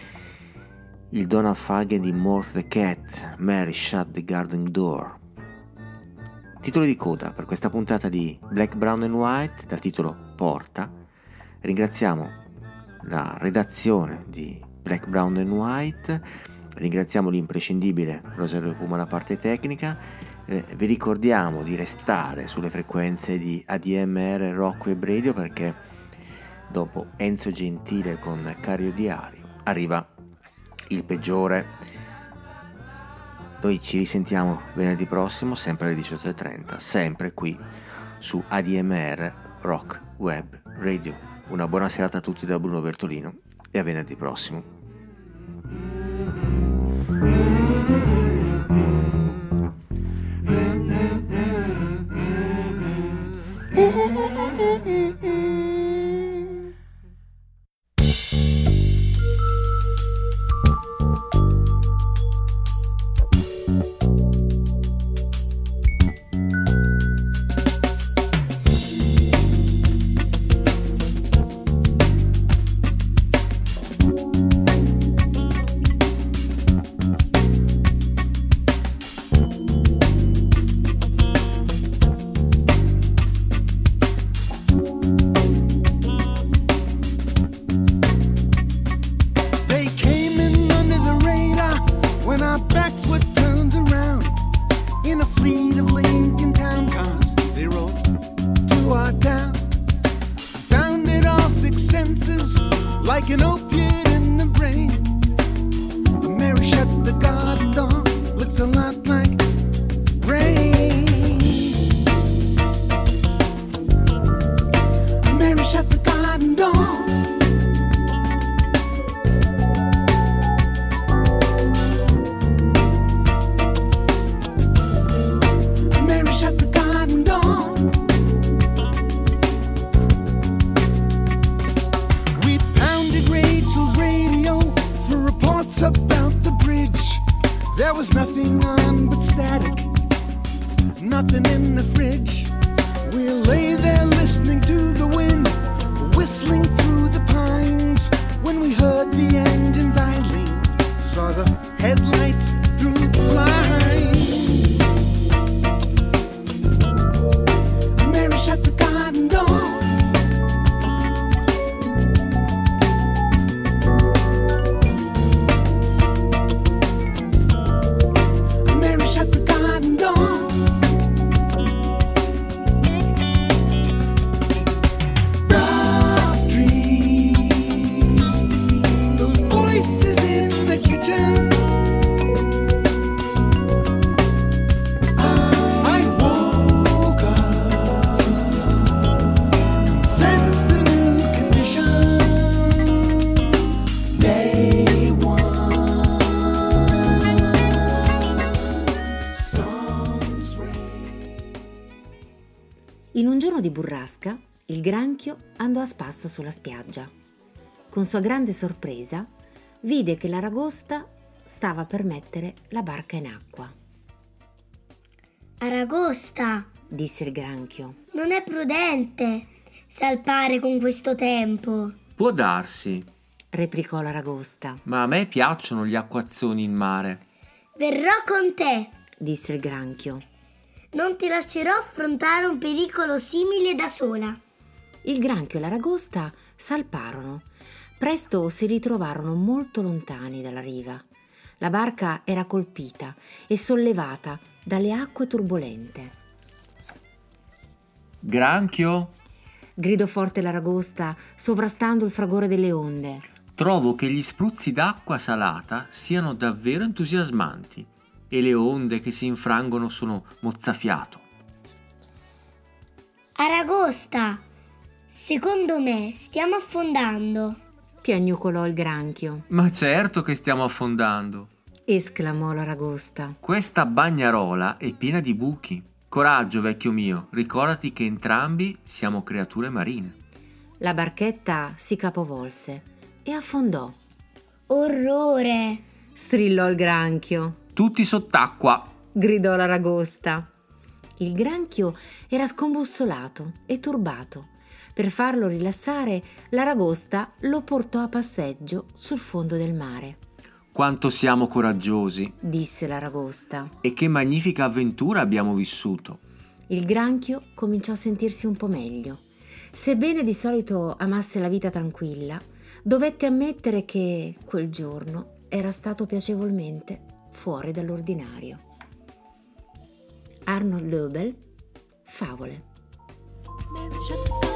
il Donald Fagen di Morth the Cat, Mary Shut the Garden Door. Titoli di coda per questa puntata di Black, Brown and White dal titolo Porta. Ringraziamo la redazione di Black, Brown and White, ringraziamo l'imprescindibile Rosario Puma alla parte tecnica. Eh, vi ricordiamo di restare sulle frequenze di A D M R Rock Web Radio, perché dopo Enzo Gentile con Cario Diario arriva il peggiore. Noi ci risentiamo venerdì prossimo, sempre alle diciotto e trenta, sempre qui su A D M R Rock Web Radio. Una buona serata a tutti da Bruno Bertolino e a venerdì prossimo. like an opiate in the brain. Mary shut the garden door, looks a lot like rain. Mary shut the garden door. Mary shut the garden door. We pounded Rachel's radio for reports about the bridge. There was nothing on but static, nothing in the fridge. We lay there listening to the wind, whistling through the pines, when we heard the engines idling, saw the headlights through the blinds. Mary shut the garden door. Mary shut the garden door. Rough dreams, those voices in the kitchen. I woke up, sensed the new condition. Day one, storms rain. In un giorno di burrasca, il granchio andò a spasso sulla spiaggia. Con sua grande sorpresa, vide che l'aragosta stava per mettere la barca in acqua. Aragosta, Disse il granchio. non è prudente salpare con questo tempo. Può darsi, Replicò l'aragosta. ma a me piacciono gli acquazzoni in mare. Verrò con te. Disse il granchio. Non ti lascerò affrontare un pericolo simile da sola. Il granchio e l'aragosta salparono. Presto si ritrovarono molto lontani dalla riva. La barca era colpita e sollevata dalle acque turbolente. Granchio, Gridò forte l'aragosta, sovrastando il fragore delle onde. trovo che gli spruzzi d'acqua salata siano davvero entusiasmanti e le onde che si infrangono sono mozzafiato. Aragosta, secondo me stiamo affondando. Piagnucolò il granchio. Ma certo che stiamo affondando. Esclamò l'aragosta. Questa bagnarola è piena di buchi. Coraggio, vecchio mio, ricordati che entrambi siamo creature marine. La barchetta si capovolse e affondò. Orrore! Strillò il granchio. Tutti sott'acqua. Gridò l'aragosta. Il granchio era scombussolato e turbato. Per farlo rilassare, l'aragosta lo portò a passeggio sul fondo del mare. Quanto siamo coraggiosi Disse l'aragosta. e che magnifica avventura abbiamo vissuto. Il granchio cominciò a sentirsi un po' meglio. Sebbene di solito amasse la vita tranquilla, dovette ammettere che quel giorno era stato piacevolmente fuori dall'ordinario. Arnold Löbel, Favole. Mary shut the